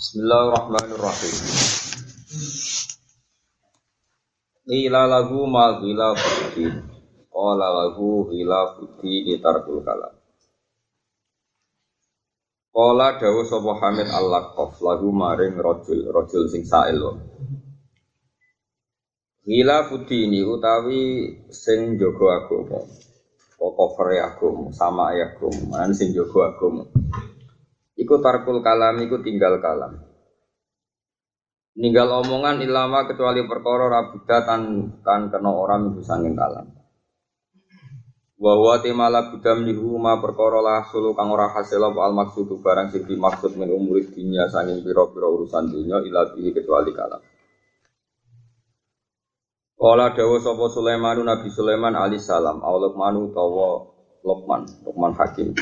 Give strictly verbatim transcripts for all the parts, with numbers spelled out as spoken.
Bismillahirrahmanirrahim. Qila lahu ma qila fuddin. Qala lahu qila fuddin tarkul kalam. Qala dawu sapa Hamid al-Laqaf lahu maring rajul, rajul sing sa'il. Qila fuddin utawi sing jaga agama. Pokok agama, sama agama, man sing jaga agama. Iku tarkul kalam, iku tinggal kalam. Ninggal omongan ilama kecuali perkara rabuda tan tan kena orang itu sanging kalam. Wa huwa timala budam lihu ma perkara la sulu kang ora hasil apa al maksudu barang sing dimaksud min umuri dunya sanging pira-pira urusan dunya ila bihi kecuali kalam. Kala dawuh sapa Sulaiman Nabi Sulaiman alaihi salam, Luqman utawa Luqman, Luqman Hakim.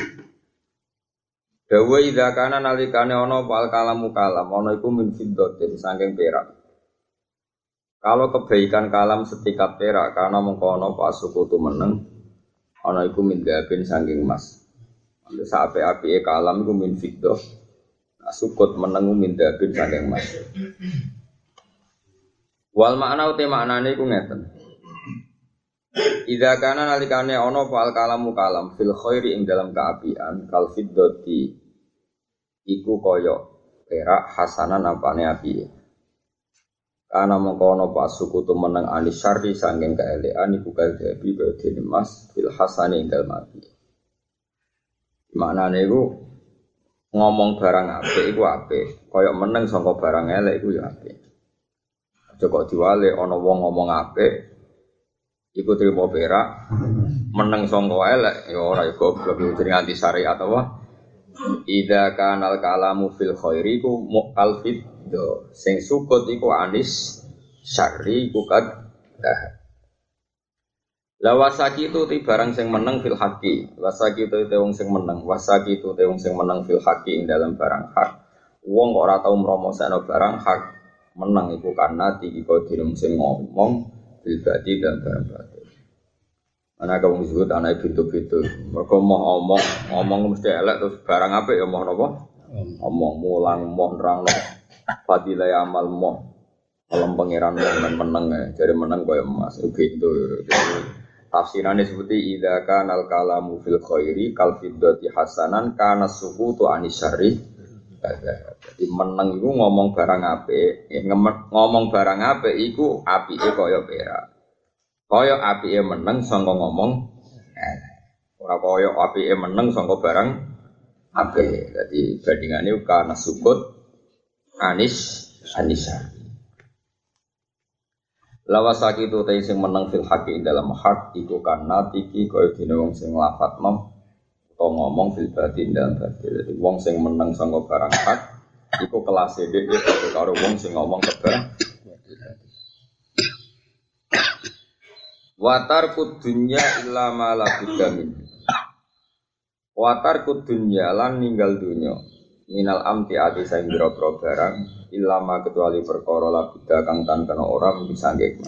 Dawa idza kana nalikane ana pal kalamu kalam ana iku min fiddatin saking perak. Kalau kebaikan kalam setikat perak karena mengko ana pasukutu meneng ana iku min gabin saking emas. Ambil sape-apike kalam iku min fiddah. Nah, sukut meneng min gabin saking emas. Wal makna uti maknane iku ngeten. Idza kana nalikane ana pal kalamu kalam fil khairi ing dalam kaapian kal fiddati iku kaya perak hasanan apane api. Kana mengkono pasuku tu meneng anis syarri sanging kaelekan iku kadhebi badhe emas fil hasani ing dalem api. Maknane iku ngomong barang apik iku apik, kaya meneng saka barang elek iku ya apik. Aja kok diwale ana wong ngomong apik iku trimo perak, meneng saka elek ya ora ya goblok jenenge anti syariat apa. Idza kanal kalamu fil khairi ku muqal fiddo sing sukut iku anis syarri ku kad dah. La wasaki tu ti barang sing meneng fil haqi. Wasaki tu te wong sing meneng, wasaki tu te wong sing meneng fil haqi ing dalam barang hak. Wong kok ora tau mromosakno barang hak meneng iku karena iki kok dirung sing ngomong bil badi dan barang batil. Anak kamu disebut anak pintu-pintu. Mereka mau ngomong, ngomong mesti elek terus barang apa ya mau nopo? Ngomong mulang, mau nerang nopo. Fadilah amal mau. Alam pangeran mau menang ya. Jadi menang kau yang emas. Begitu. Tafsirannya seperti idza kanal kalamu fil khairi kal fiddati hasanan kana sukutu anisyari. Jadi menang itu ngomong barang apa? Ngomong barang apa? Iku api kaya perak. Kaya apike meneng sangka ngomong eh ora kaya apike meneng sangka barang apik. Dadi bandingane kana sukut anis anisa. Lawasaki tu te sing meneng fil haqi dalam hak iku kana tiki kaya dene wong sing lafat mem utawa ngomong fil batin dalam batin. Dadi wong sing meneng sangka barang hak iku kelas e dhewe karo wong sing ngomong barang watar kudunya illa ma la bidamin. Watar kudunya lan ninggal dunya. Minal amti ati sing biro-biro barang illa ma kecuali perkara la bida kang tan kena ora bisa ngekma.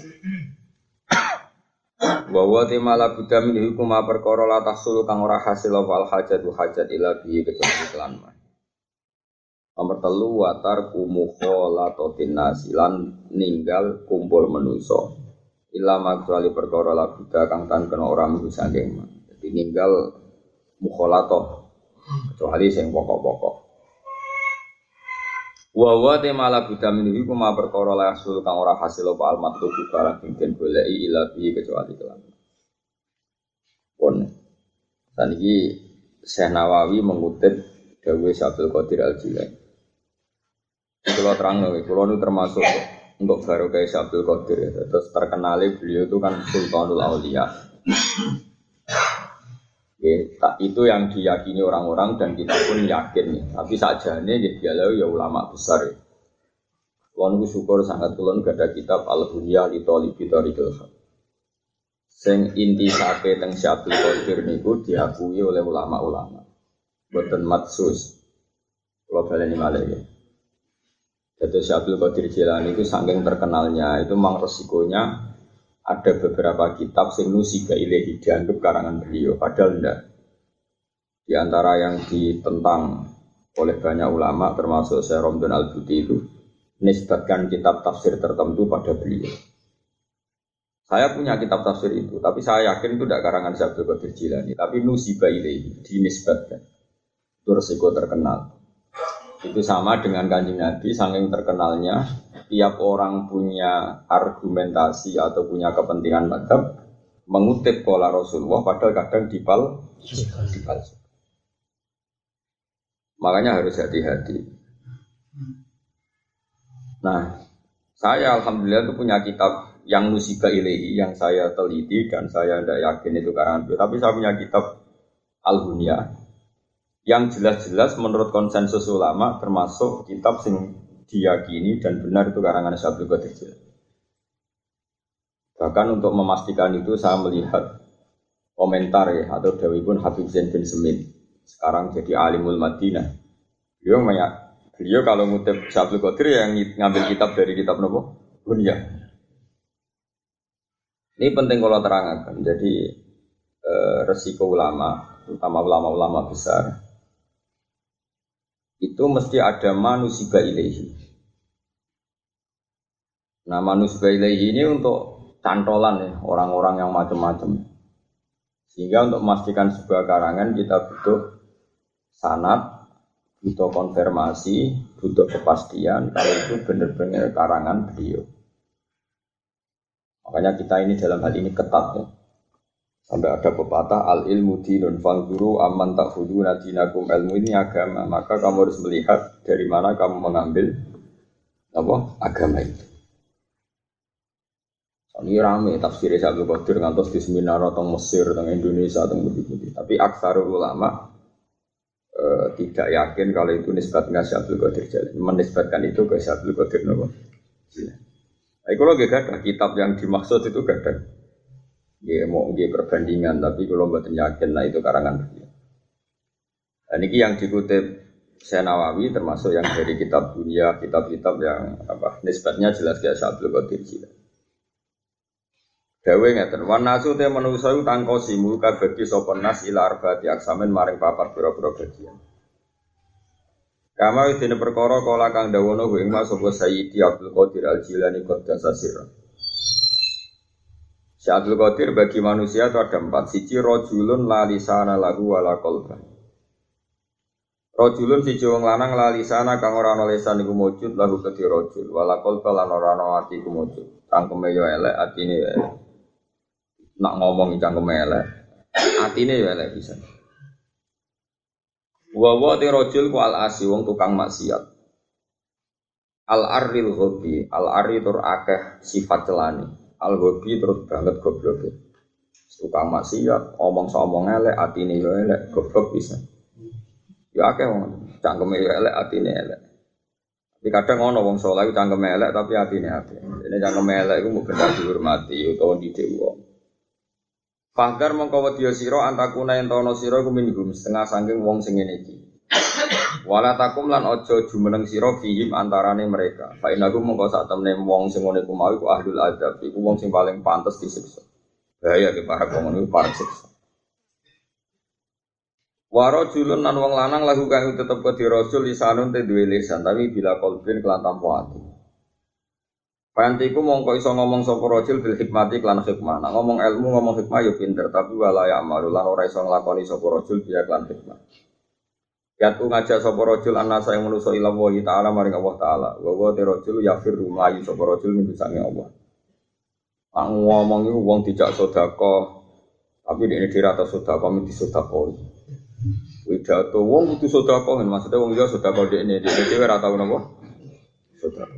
Wa wa timala bidamin hukum perkara la tahsul kang ora hasil wal hajatu hajat ila bi kecuali kelan. Nomor telu watar kumukholatotin nasilan ninggal kumpul manusa. Ilama kecuali perkara la buddha kang tan kena ora mung saking. Dadi ninggal mukhalathah kecuali sing pokok-pokok. Wa wa te mala buddha minhi ku ma perkara la hasil kang ora hasil apa al matlub barang sing den goleki ila bi kecuali kelan. Pun saniki Syekh Nawawi mengutip dawuh Syaikhul Qadir Al-Jilani. Kula terangno kula nu termasuk untuk baru kayak Syaikhul Qadir ya. Terus terkenali beliau itu kan Sultanul Aulia. Oke, itu yang diyakini orang-orang dan kita pun yakin ya. Tapi sajane ya dialau ya ulama besar ya. Kulon ku syukur sangat kulon gak ada kitab Al-Hunya li Thalibi Thariqil Haq. Sing inti sake teng Syaikhul Qadir niku diakui oleh ulama-ulama. Boten matsus. Kalau baleni malih ya. Jadi Syaikhul Qadir Jilani itu saking terkenalnya itu memang resikonya ada beberapa kitab sing nusiba ilahi dianggap karangan beliau padahal enggak. Di antara yang ditentang oleh banyak ulama termasuk Syekh Romdon Al-Buti itu nisbatkan kitab tafsir tertentu pada beliau. Saya punya kitab tafsir itu, tapi saya yakin itu tidak karangan Syekh Abdul Qadir Jilani, tapi nusiba ilaihi, dinisbatkan. Itu resiko terkenal. Itu sama dengan Kanjeng Nabi, saking terkenalnya, tiap orang punya argumentasi atau punya kepentingan madzhab mengutip qala Rasulullah padahal kadang dipal dipal. Makanya harus hati-hati. Nah, saya alhamdulillah itu punya kitab yang nusiba ilaihi yang saya teliti dan saya tidak yakin itu karangan beliau, tapi saya punya kitab Al-Hunyah yang jelas-jelas menurut konsensus ulama termasuk kitab sing diyakini dan benar itu karangan Syekh Abdul Qadir Jilani. Bahkan untuk memastikan itu saya melihat komentar ya atau dawuhipun Habib Zain bin Semin sekarang jadi alimul Madinah. Beliau banyak, beliau kalau ngutip Syekh Abdul Qadir yang ngambil kitab dari kitab nopo Hunyah. Ini penting kalau terangkan. Jadi eh, resiko ulama, terutama ulama-ulama besar itu mesti ada manusiba ilaihi. Nah manusiba ilaihi ini untuk cantolan ya, orang-orang yang macam-macam. Sehingga untuk memastikan sebuah karangan kita butuh sanad, butuh konfirmasi, butuh kepastian kalau itu benar-benar karangan beliau. Makanya kita ini dalam hal ini ketat ya. Sampai ada pepatah al ilmu dinun fanzuru amman ta'khuduna dinakum, ilmu ini agama, maka kamu harus melihat dari mana kamu mengambil apa agama itu. Ini rame tafsir Syekh Abdul Qadir ngantos di seminar teng Mesir, teng Indonesia, teng budi-budi. Tapi aksarul ulama e, tidak yakin kalau itu nisbatnya Syekh Abdul Qadir Jilani, menisbatkan itu ke Syekh Abdul Qadir Jilani. Nah, kalau gak ada kitab yang dimaksud itu gak ada. Dia mau dia perbandingan, tapi kalau buatan yakin lah itu karangan beliau. Dan ini yang dikutip Syekh Nawawi termasuk yang dari kitab dunia, kitab-kitab yang apa nisbatnya jelas ke Syekh Abdul Qadir Jilani. Dawe ngeten, wan nasu te manusa iku tangkosi muka bagi sapa nas ila arba'ati aksamen maring papat pira-pira bagian. Kama dene perkara kala kang dawono ing mas sapa Sayyidi Abdul Qadir Al-Jilani Qaddasa sirra. Syekh Abdul Qadir bagi manusia itu ada empat. Siji rajulun la lisana lahu wala qalban. Rajulun siji wong lanang la lisana kang ora ana lisan iku mujud lahu kedhi rajul wala qalban lan ora ana ati iku mujud. Cangkeme yo elek, atine yo elek. Nak ngomong cangkeme elek, atine yo elek bisa. Wa wa te rajul ku al asi wong tukang maksiat. Al aril ghabi, al ari tur akeh sifat celane. Al-Ghabi terus banget goblok. Tukang maksiat, omong somong elek, atine yo elek, goblok bisa. Ya akeh wong cangkeme yo elek, atine elek. Tapi kadang ono wong saleh cangkeme elek tapi atine apik. Dene cangkeme elek iku mung bener dihormati utawa didik wong. Fahdar mongko wedya sira antakuna yen ana sira iku minhum setengah saking wong sing ngene iki. Wala takum lan aja jumeneng sira fihim antarane mereka. Fa inaku mongko sak temne wong sing ngene ku mau iku ahlul adab, iku wong sing paling pantes disiksa. Bahaya ke para wong niku para siksa. Wa rajulun lan wong lanang lahu kang tetep ke rasul lisanun te duwe lisan tapi bila qalbin kelan tanpa ati. Pantiku mongko iso ngomong sapa rajul bil hikmati lan hikmah. Nah, ngomong ilmu ngomong hikmah yo pinter tapi wala ya amalu lan ora iso nglakoni sapa rajul biya lan hikmah. Yatu ngajak sapa rajul annasa yang manusa ila Allah taala maring Allah taala. Wa wa rajul yafir rumayi sapa rajul min sange Allah. Pak ngomong iku wong dijak sedekah tapi dene dira ta sedekah mesti sedekah. Widato wong kudu sedekah maksudnya wong liya sedekah dekne dhewe dhewe ora tau napa sedekah.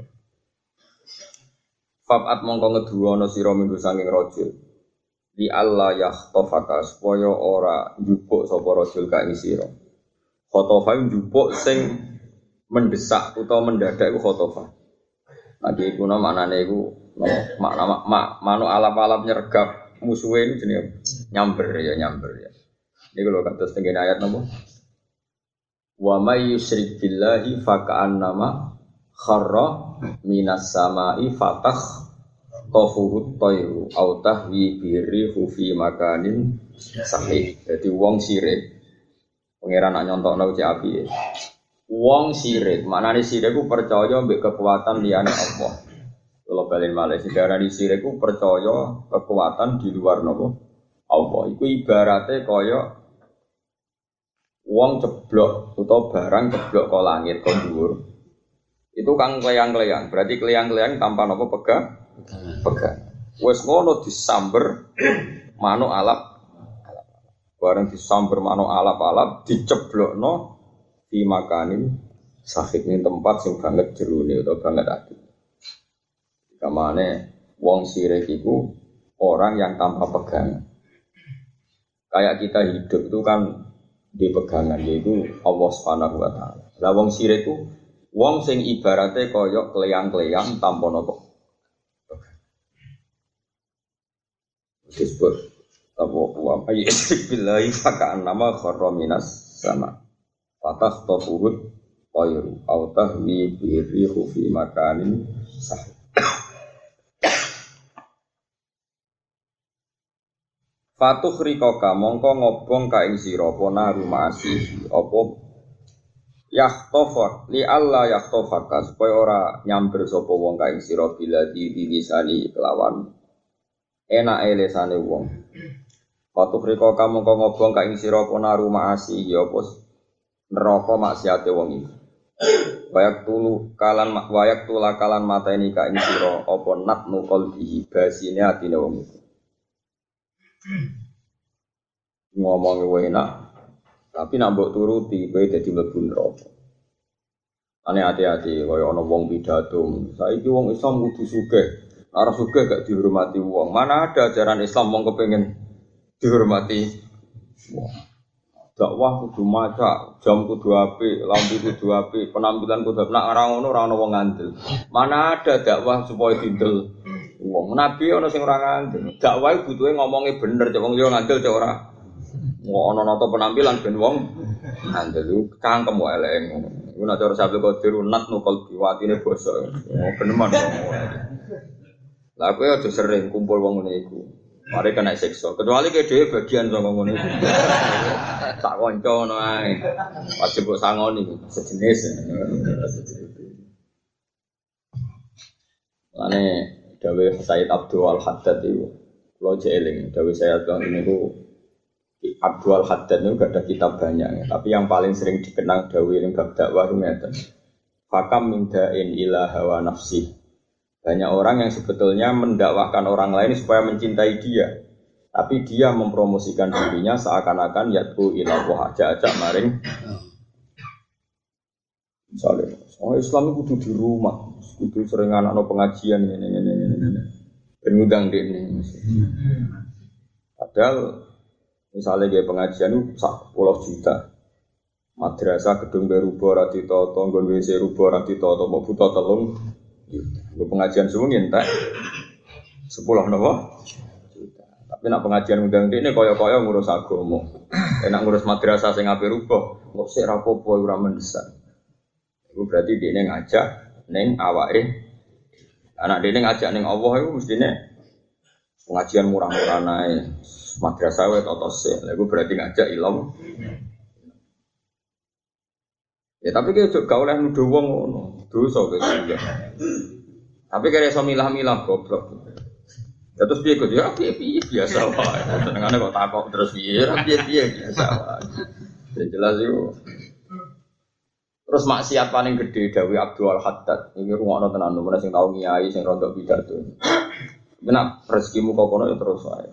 Fabat mongko ngeduwa ana sira minggu saking rajul. Li Allah yahtafaka supaya ora njupuk sapa rajul ka ing sira. Khotofah njupuk sing mendesak utawa mendadak iku khotofah. Lagi iku nama maknane iku makna mak manuk alap-alap nyergap musuhe ini jenenge nyamber ya nyamber ya. Niku lho kados tengene ayat napa? Wa may yusyrik billahi fa ka'annama kharra minas samai fatah tafuhut tayru au tahwi birihu fi makanin sahih. Dadi wong sirik pangeran nak nyontokno cek api. Wong sirik, maknane sirik ku percaya mbek kekuatan liyane Allah. Kalau balen malih sejarah di sirik ku percaya kekuatan di luar napa Allah. Iku ibarate kaya wong ceblok utawa barang ceblok ke langit ke dhuwur. Itu kang kleyang-kleyang, berarti kleyang-kleyang tanpa napa pegang pegang. Wes ngono disamber manuk alap. Bareng disamber manuk alap-alap diceblokno di makanin sahik ning tempat sing banget jerone utawa banget ati. Kamane wong sirik iku orang yang tanpa pegangan. Kayak kita hidup itu kan di pegangan yaitu Allah Subhanahu wa taala. Lah wong sirik iku wong sing ibarate kaya kleyang-kleyang tanpa napa. Disebut apa wa ayyik billahi fakaan nama kharra minas sama. Fatah tafuhud qayru au tahwi bi rihu fi makanin sah. Fatuh rikoka mongko ngobong ka ing sira apa naru ma'asi apa yahtofak li alla yahtofaka supaya ora nyamber sapa wong ka ing sira bila diwilisani kelawan enake lesane wong. Fatuh rikoka mongko ngobong ka ing sira apa naru ma'asi ya apa neraka maksiate wong iki. Wayak tulu kalan wayak tula kalan mateni ka ing sira apa natnu qalbi basine atine wong iki. Ngomong enak, tapi nak mbok turuti kowe dadi mlebu neraka. Ane hati-hati kaya ana wong pidato. Saiki wong Islam kudu sugih. Ora sugih gak dihormati wong. Mana ada ajaran Islam wong kepengin dihormati wong. Dakwah kudu maca, jam kudu apik, lampu kudu apik, penampilan kudu apik. Nak ora ngono ora ana wong ngandel. Mana ada dakwah supaya dindel wong. Nabi ana sing ora ngandel. Dakwah butuhe ngomongnya bener, cek wong yo ngandel cek ora. Wong ana nata penampilan ben wong ngandel cangkem wae elek ngono. Iku nek cara Sabtu Qadir nat nukul biwatine basa. Oh beneman. Lah kowe aja sering kumpul wong ngene iku. Mari kena siksa. Kecuali ke dhewe bagian saka ngono iku. Tak kanca ngono ae. Wajib kok sangoni sejenis. Lane Dawe Said Abdul Haddad itu kalau jeeling, Dawe Said Abdul ini itu Abdul Haddad itu gak ada kitab banyak, tapi yang paling sering dikenang Dawe yang bab dakwah itu ngeten. Fakam min da'in ila hawa nafsi. Banyak orang yang sebetulnya mendakwahkan orang lain supaya mencintai dia, tapi dia mempromosikan dirinya seakan-akan yad'u ila wa ajak-ajak maring. Misalnya, oh Islam itu kudu di rumah, kudu sering anak-anak pengajian ini, ini, ini, ini, penudang di ini. Padahal, misalnya kayak pengajian itu sepuluh juta, madrasah gedung berubah rati toto, nggon W C rubah rati toto, mau buta telung, gue pengajian semua nyentak sepuluh nopo juta. Tapi nak pengajian undang di ini koyo-koyo ngurus agama, enak ngurus madrasah sing ape rubah, nggak sih rapopo ora mendesak. Itu berarti dia ngajak neng awake. Anak dia ngajak neng Allah itu mestinya pengajian murah-murah naik madrasah wae totose. Lah iku berarti ngajak ilmu. Ya tapi ki ojo gak oleh nuduh wong ngono. Dosa kok ya. Tapi kare iso milah-milah goblok. Ya terus piye kok ya piye biasa wae. Senengane kok takok terus piye piye biasa wae. Ya jelas itu. Terus maksiat paling gede Dawi Abdul Haddad. Ini rungokno tenan nomor sing tau ngiyai sing rontok pidato. Benak rezekimu kok kono ya terus wae.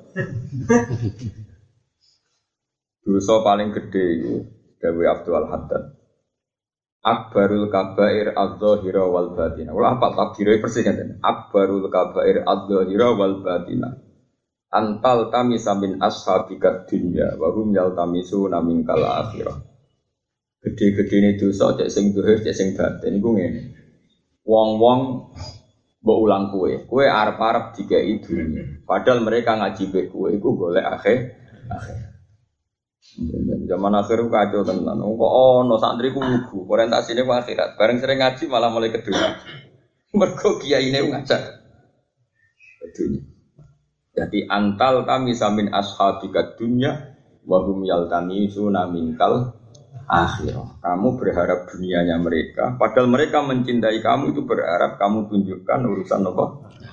Dosa paling gede itu Dawi Abdul Haddad. Akbarul kabair adz-dzahira wal batinah. Ora apa takdire persis ngene. Akbarul kabair adz-dzahira wal batinah. Antal tamisa min ashabika dunya wa hum yaltamisuna minkal akhirah. Gede-gede ini dosa, cek sing dohir, cek sing batin, itu ngene. Wong-wong mbok ulang kue, kue arep-arep dikai dunia. Padahal mereka ngaji be kue, itu golek akhir, akhir. Zaman akhir itu kacau tenan. Kok ono santri ku lugu, orientasine ku akhirat. Bareng sering ngaji malah mulai kedua. Mergo kiyaine ngajak ke dunia. Jadi antal kami samin ashabika dunya wa hum yaltamisuna minkal akhirah. Kamu berharap dunianya mereka, padahal mereka mencintai kamu itu berharap kamu tunjukkan urusan apa?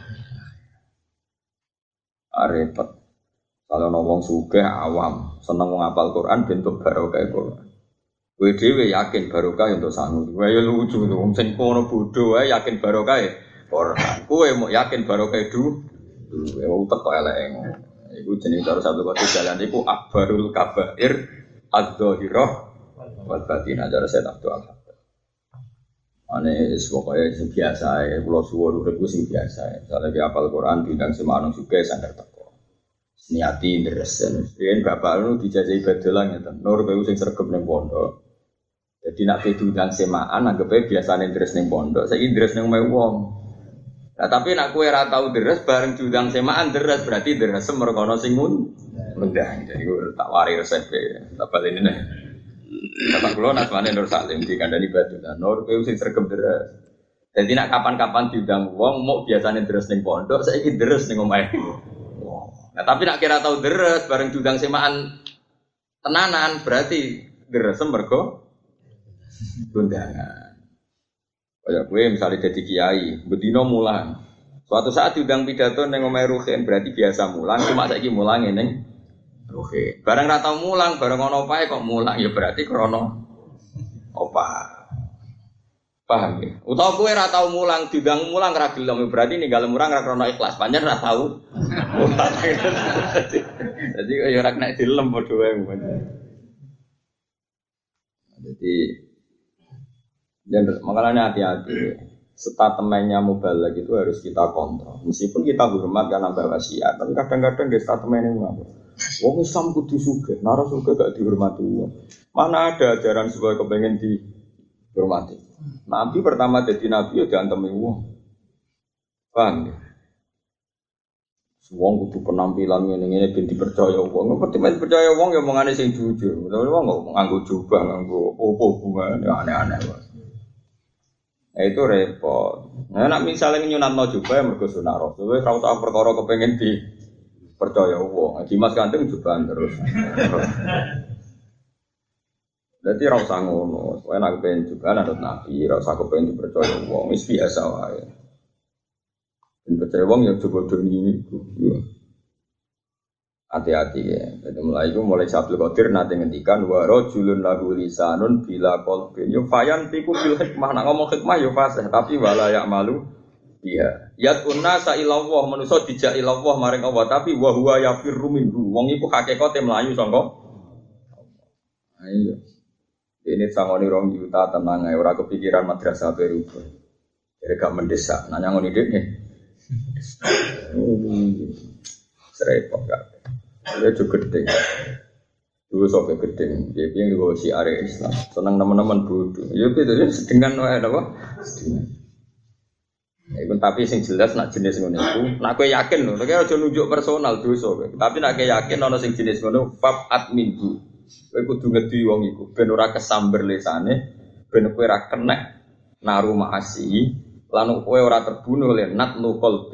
Repot. Kalau ngomong sugih awam, seneng ngapal Quran bentuk barokah Quran. Kowe dhewe yakin barokah untuk sangu. Kowe ya lucu to, wong sing kono bodho wae yakin barokah Quran. Kowe mau yakin barokah du. Kowe utek kok elek. Iku jenenge cara satu kota jalan iku akbarul kabair adz-dzahirah wal batinah cara saya tak doa. Ane pokoknya sing biasa ya, kula suwun urip sing biasa ya. Soale ki apal Quran bintang semanung juga sandar teko. Niati ndresen. Yen bapak lu dijajahi badolan ngeten. Nur kowe sing sregep ning pondok. Jadi nak diundang semaan anggape biasane ndres ning pondok, saiki ndres ning omahe wong. Nah, tapi nak kowe ora tau ndres bareng diundang semaan ndres berarti ndres merkono sing ngundang. Jadi tak wari resep e. Tak baleni nek. Bapak kula nasmane Nur Salim dikandani badolan. Nur kowe sing sregep ndres. Jadi nak kapan-kapan diundang wong mau biasane ndres ning pondok, saiki ndres ning omahe. Nah, tapi nak kira tau ndres bareng diundang semaan tenanan berarti ndres mergo undangan. Kayak gue misalnya jadi kiai, bedino mulang. Suatu saat diundang pidato neng omahe Ruhin berarti biasa mulang, cuma saiki mulang neng Ruhin. Barang ra tau mulang, barang ono opae kok mulang ya berarti krana opah. Paham ya? Utawa kowe ra tau mulang, diundang mulang ra gelem berarti ninggal murang ra krana ikhlas. Pancen ra tau. Jadi ya ora kena dilem padha wae. Jadi dan makanya hati-hati, statementnya mubalagh itu harus kita kontrol. Meskipun kita hormat karena bawa wasiat, tapi kadang-kadang dia statementnya ngapa? Wong Islam kudu sugih, nara sugih gak dihormati. Mana ada ajaran supaya kepengen dihormati? Nabi pertama jadi nabi ya diantemi wong. Paham ya? Wong kudu penampilan ngene-ngene ben dipercaya wong. Ngerti men percaya wong ya omongane sing jujur. Tapi wong kok nganggo jubah, nganggo opo hubungan ya aneh-aneh wae. Nah, itu repot. Nah, nak misalnya nyunatno jubah ya mergo sunah Rasul. Wis ora usah perkara kepengin dipercaya wong. Dimas Kanjeng jubahan terus. Dadi ora usah ngono. Kowe nek pengen jubahan anut Nabi, ora usah kepengin dipercaya wong. Wis biasa wae. Dan percaya wong yang coba doni itu, hati-hati ya. Jadi mulai itu mulai Sabtu Qadir nanti ngendikan warojulun lahu lisanun bila qalbin. Yo fayan tiku bil hikmah. Nak ngomong hikmah yo fasih, tapi wala yak malu dia. Yat unnasa ilallah manusa dijak ilallah maring Allah, tapi wa huwa yafirru minhu. Wong iku hakikate mlayu sangka. Ayo. Ini sangoni rong juta tenang ae ora kepikiran madrasah baru. Jadi gak mendesak. Nanya ngoni dekne. Serepot gak. Dia juga gede. Dulu sampai gede. Dia yang juga si area Islam. Senang teman-teman bodoh. Ya gitu ya sedengan wae apa? Sedengan. Ya pun tapi sing jelas nak jenis ngono iku, nak kowe yakin lho, nek aja nunjuk personal dosa kowe. Tapi nak kowe yakin ana sing jenis ngono, fab adminhu. Kowe kudu ngedi wong iku ben ora kesamber lesane, ben kowe ora kenek naru maasi, lan kowe ora terbunuh oleh natlu qalbi.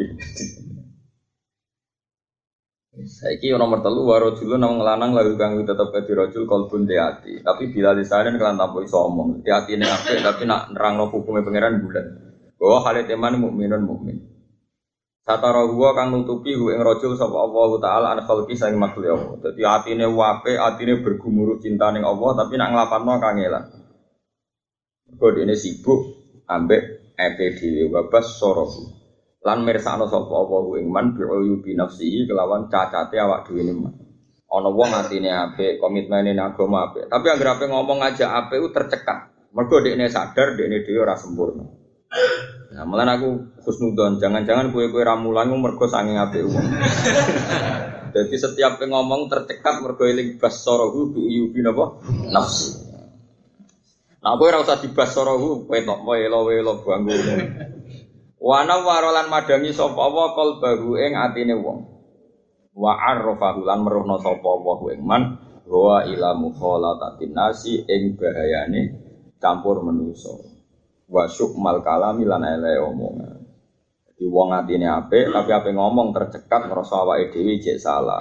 Saiki nomor telu waro dulu nang lanang lagu kang tetep dadi rajul qalbun di ati. Tapi bila lisane kelan tanpa iso omong, di atine apik tapi nak nerangno hukume pangeran bulan. Bahwa hal teman mukminun mukmin. Satara huwa kang nutupi hu ing rajul sapa Allah taala an khalqi sang makhluk Allah. Dadi atine wape, atine bergumuruh cinta ning Allah tapi nak nglapanno kangelan. Mergo dene sibuk ambek epe dhewe wabas sorohu. Lan mirsakno sapa apa ing man bi'uyubi nafsihi kelawan cacate awak dhewe ne. Ana wong atine apik, komitmene nang agama apik, tapi anggere ape ngomong aja apik ku tercekat. Mergo dekne sadar dekne dhewe ora sempurna. Nah, malah aku husnudzon, jangan-jangan kowe-kowe ra mulang mergo saking apik wong. Jadi setiap ngomong tercekat mergo eling basarahu bi'uyubi napa? Nafsi. Nah, kowe ora usah dibasarahu, kowe tok welo-welo bangku. Wana warolan madangi sapa wa qalbahu ing atine wong. Wa arrafahu lan meruhna sapa wa ing man wa ila mukhalatatin nasi ing bahayane campur manusa. Wa syukmal kalami lan ele omongan. Dadi wong atine apik tapi ape ngomong tercekat ngrasa awake dhewe jek salah.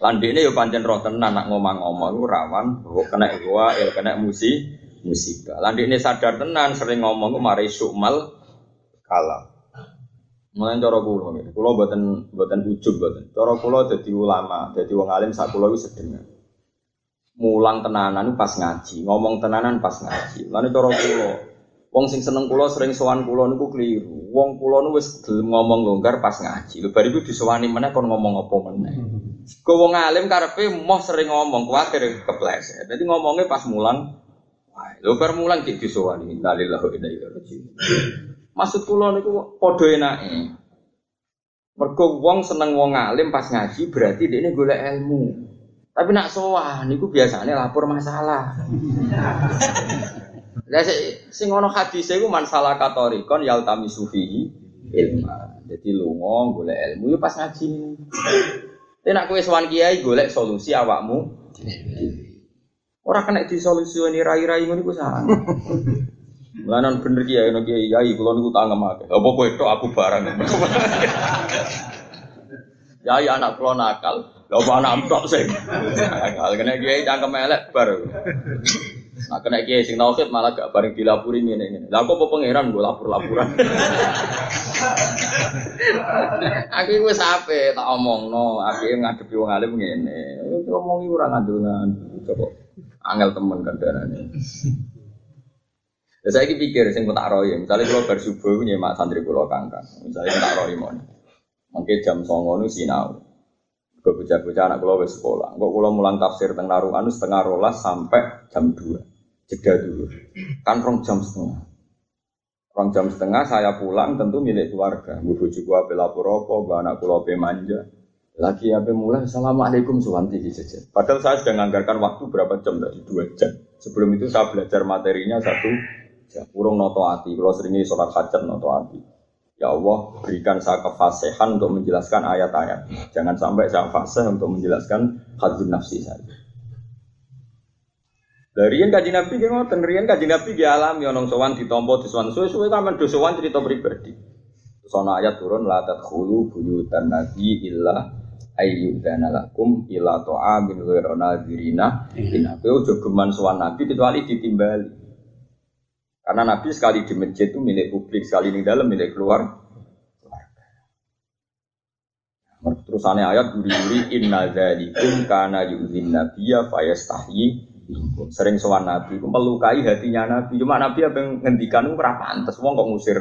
Lan dekne yo pancen roh tenan nak ngomong-ngomong iku rawan kok kena gua el kena musi musibah. Lan dekne sadar tenan sering ngomong ku mari sukmal kalam. Mulane cara kula nggih. Kula mboten mboten ujug mboten. Cara kula dadi ulama, dadi wong alim sak kula iku sedengan. Mulang tenanan pas ngaji, ngomong tenanan pas ngaji. Lan cara kula, wong sing seneng kula sering sowan kula niku keliru. Wong kula nu wis gelem ngomong longgar pas ngaji. Lho bar iku disowani meneh kon ngomong apa meneh. Kok wong alim karepe moh sering ngomong kuwatir kepleset. Dadi ngomongnya pas mulang. Wah, lho bar mulang dik disowani. Innalillahi wa inna ilaihi raji'un. Maksud kula niku padha enake. Mergo wong seneng wong alim pas ngaji berarti dekne golek ilmu. Tapi nak sowan niku biasane lapor masalah. Lah sing ana hadise iku masalah katorikon yaltami sufihi ilma. Dadi lunga golek ilmu yo pas ngaji. Nek nak kowe sowan kiai golek solusi awakmu dhewe. Ora kena disolusioni rai-rai ngono iku salah. Mulanan bener kiai nek kiai kiai kula niku tangem akeh. Apa kowe tok aku barang. Yai anak kula nakal, lha apa anak tok sing nakal kena kiai cangkem elek bar. Nah kena kiai sing tauhid malah gak bareng dilapuri ngene-ngene. Lah kok apa pangeran nggo lapor-laporan. Aku wis ape tak omongno, aku ngadepi wong alim ngene. Ngomongi ora ngandel-ngandel coba. Angel temen kandhane. Lah saiki pikir sing tak royo, misale kula bar subuh nyemak santri kula kangkang. Misale tak royo mon. Mangke jam songo nu sinau. Kok bocah-bocah anak kula wis sekolah. Kok kula mulang tafsir teng Narungan setengah rolas sampai jam dua. Jeda dulu. Kan rong jam setengah. Rong jam setengah saya pulang tentu milik keluarga. Bu bojoku ape lapor apa, mbak anak kula ape manja. Lagi ape mulai assalamualaikum suwanti jajan. Padahal saya sudah menganggarkan waktu berapa jam tadi dua jam. Sebelum itu saya belajar materinya satu jam. Urung noto ati. Kalau seringnya sholat hajat noto ati. Ya Allah, berikan saya kefasihan untuk menjelaskan ayat-ayat. Jangan sampai saya fasih untuk menjelaskan hadzun nafsi saya. Dari yang kaji Nabi, gimana? Tenrian kaji Nabi dialami orang sowan ditompo disowan suwe-suwe kamen dosowan cerita pribadi. Sono ayat turun la tadkhulu buyutan nabi illa ayyudana lakum ila ta'amin ghairu nadirina. Dina kowe aja geman sowan Nabi kecuali ditimbali. Karena Nabi sekali di masjid itu milik publik, sekali di dalam milik keluar. Terusannya ayat guri-guri inna dzalikum kana yu'zin nabiyya fayastahyi minkum. Sering sowan Nabi itu melukai hatinya Nabi. Cuma Nabi apa yang ngendikan itu ora pantes wong kok ngusir.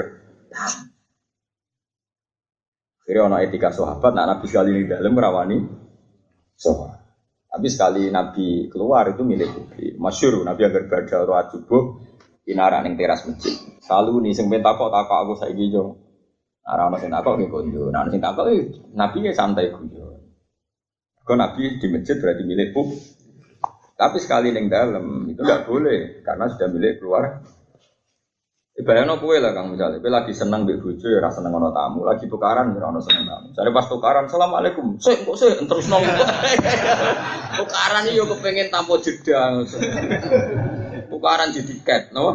Kira ana etika sahabat, nak Nabi sekali di dalam merawani sahabat. Tapi sekali Nabi keluar itu milik publik. Masyhur Nabi agar badha roa subuh inarak ning teras masjid. Selalu nih sing ben takok-takok aku saiki yo. Ora ono sing takok nggih konjo. Nah sing takok Nabi ya santai guyon. Kok Nabi di masjid berarti milik publik. Tapi sekali ning dalam itu enggak boleh karena sudah milik keluar. Ibaratnya kowe lah Kang misale, kowe lagi seneng mbek bojo ya ora seneng ana tamu, lagi tukaran ya ora ono seneng tamu. Jare pas tukaran, "Asalamualaikum." Sik kok sik terusno. Tukaran iki yo kepengin tanpa jeda. Tukaran di tiket, no?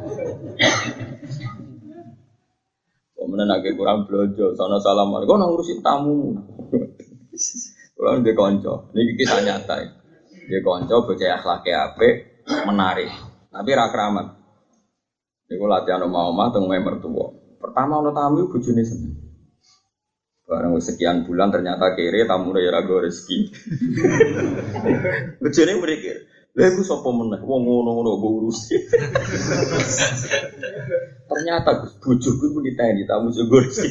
Kemudian agak kurang belanja, sana salam, kau nang ngurusin tamu. Kalau dia konco, ini kisah nyata. Dia konco, bocah akhlaknya apik, menarik, tapi rakramat. Ini kalau latihan omah-omah, tunggu mertua. Pertama ono tamu bojone seneng. Barang sekian bulan ternyata kere tamu udah ya ragu rezeki. Bojone berpikir. Lha iku sapa meneh wong ngono-ngono mbok urusi. Ternyata Gus bojoku iku diteni tamu sego rezeki.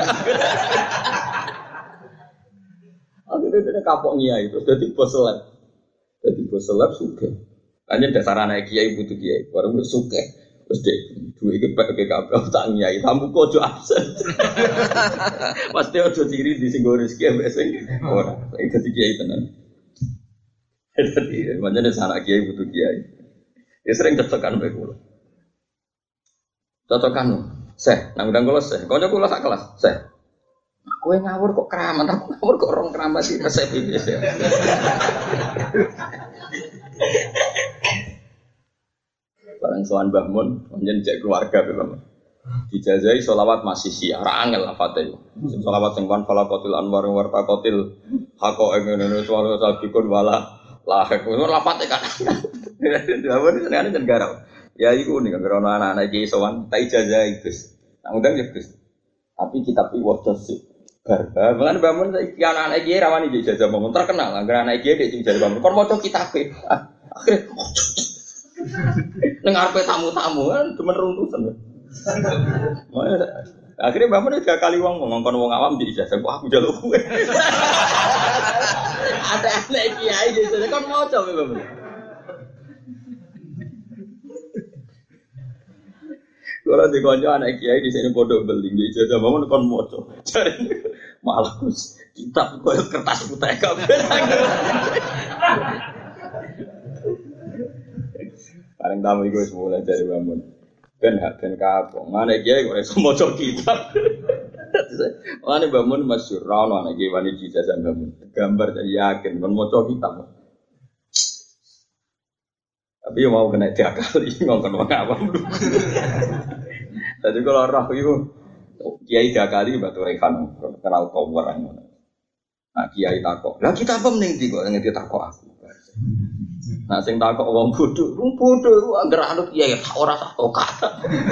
Akhirnya dia kapok ngiyai terus dadi bos seleb. Dadi bos seleb sugih. Hanya dasar anak kiai butuh kiai, baru wis sugih. Terus dek duwe iki P K K tak ngiyai tamu kok aja absen. Pasti aja ciri di sing rezeki ambek sing ora. Saiki dadi kiai tenan. Jadi, macam ada anak kiai butuh kiai. Ya sering cocokan baik pulau. Cocokan, seh, nang udang kulo seh. Kau nyokulo sak kelas, seh. Kue ngawur kok keramat, aku ngawur kok orang keramat sih resep ini sih. Barang soan bangun, kemudian cek keluarga memang. Dijazai sholawat masih siar angel lafate. Sholawat sing kan falaqatil anwar wartaqatil haqa ngene suara sabikun wala lahek. Lafate kan. Dawuh senengane jan garap. Ya iku ning karo anak-anak iki sowan tak ijazah Gus. Tak undang ya Gus. Tapi kitab iki waca sik. Bar. Mulane bangun iki anak-anak iki rawani ijazah bangun terkenal. Angger anak iki dhek ijazah bangun. Kon maca kitab e. Akhire ning arepe tamu-tamu kan demen runtusan. Akhirnya bangun tiga kali wong ngongkon wong awam di ijazah kok aku njaluk kowe. Ada anak kiai di sana kon maca Mbak. Kalau di konco anak kiai di sini bodoh beli di ijazah bangun kon maca. Malah kitab koyo kertas putih kabeh. Paling tamu iku wis mulai dari bangun. Ben hak ben kapok. Mana kiai kok iso maca kitab. Mana bangun masyhur ra ono anak kiai wani ijazah bangun. Gambar jadi yakin kon maca kitab. Tapi mau kena diakali ngongkon wong awam. Tadi kalau roh iku kiai diakali batu rekan kenal tower ngono. Nah kiai takok. Lah kita apa mending di kok ngerti takok aku. Nah sing takok wong bodho, wong bodho iku anggere anut kiai ora sak kata.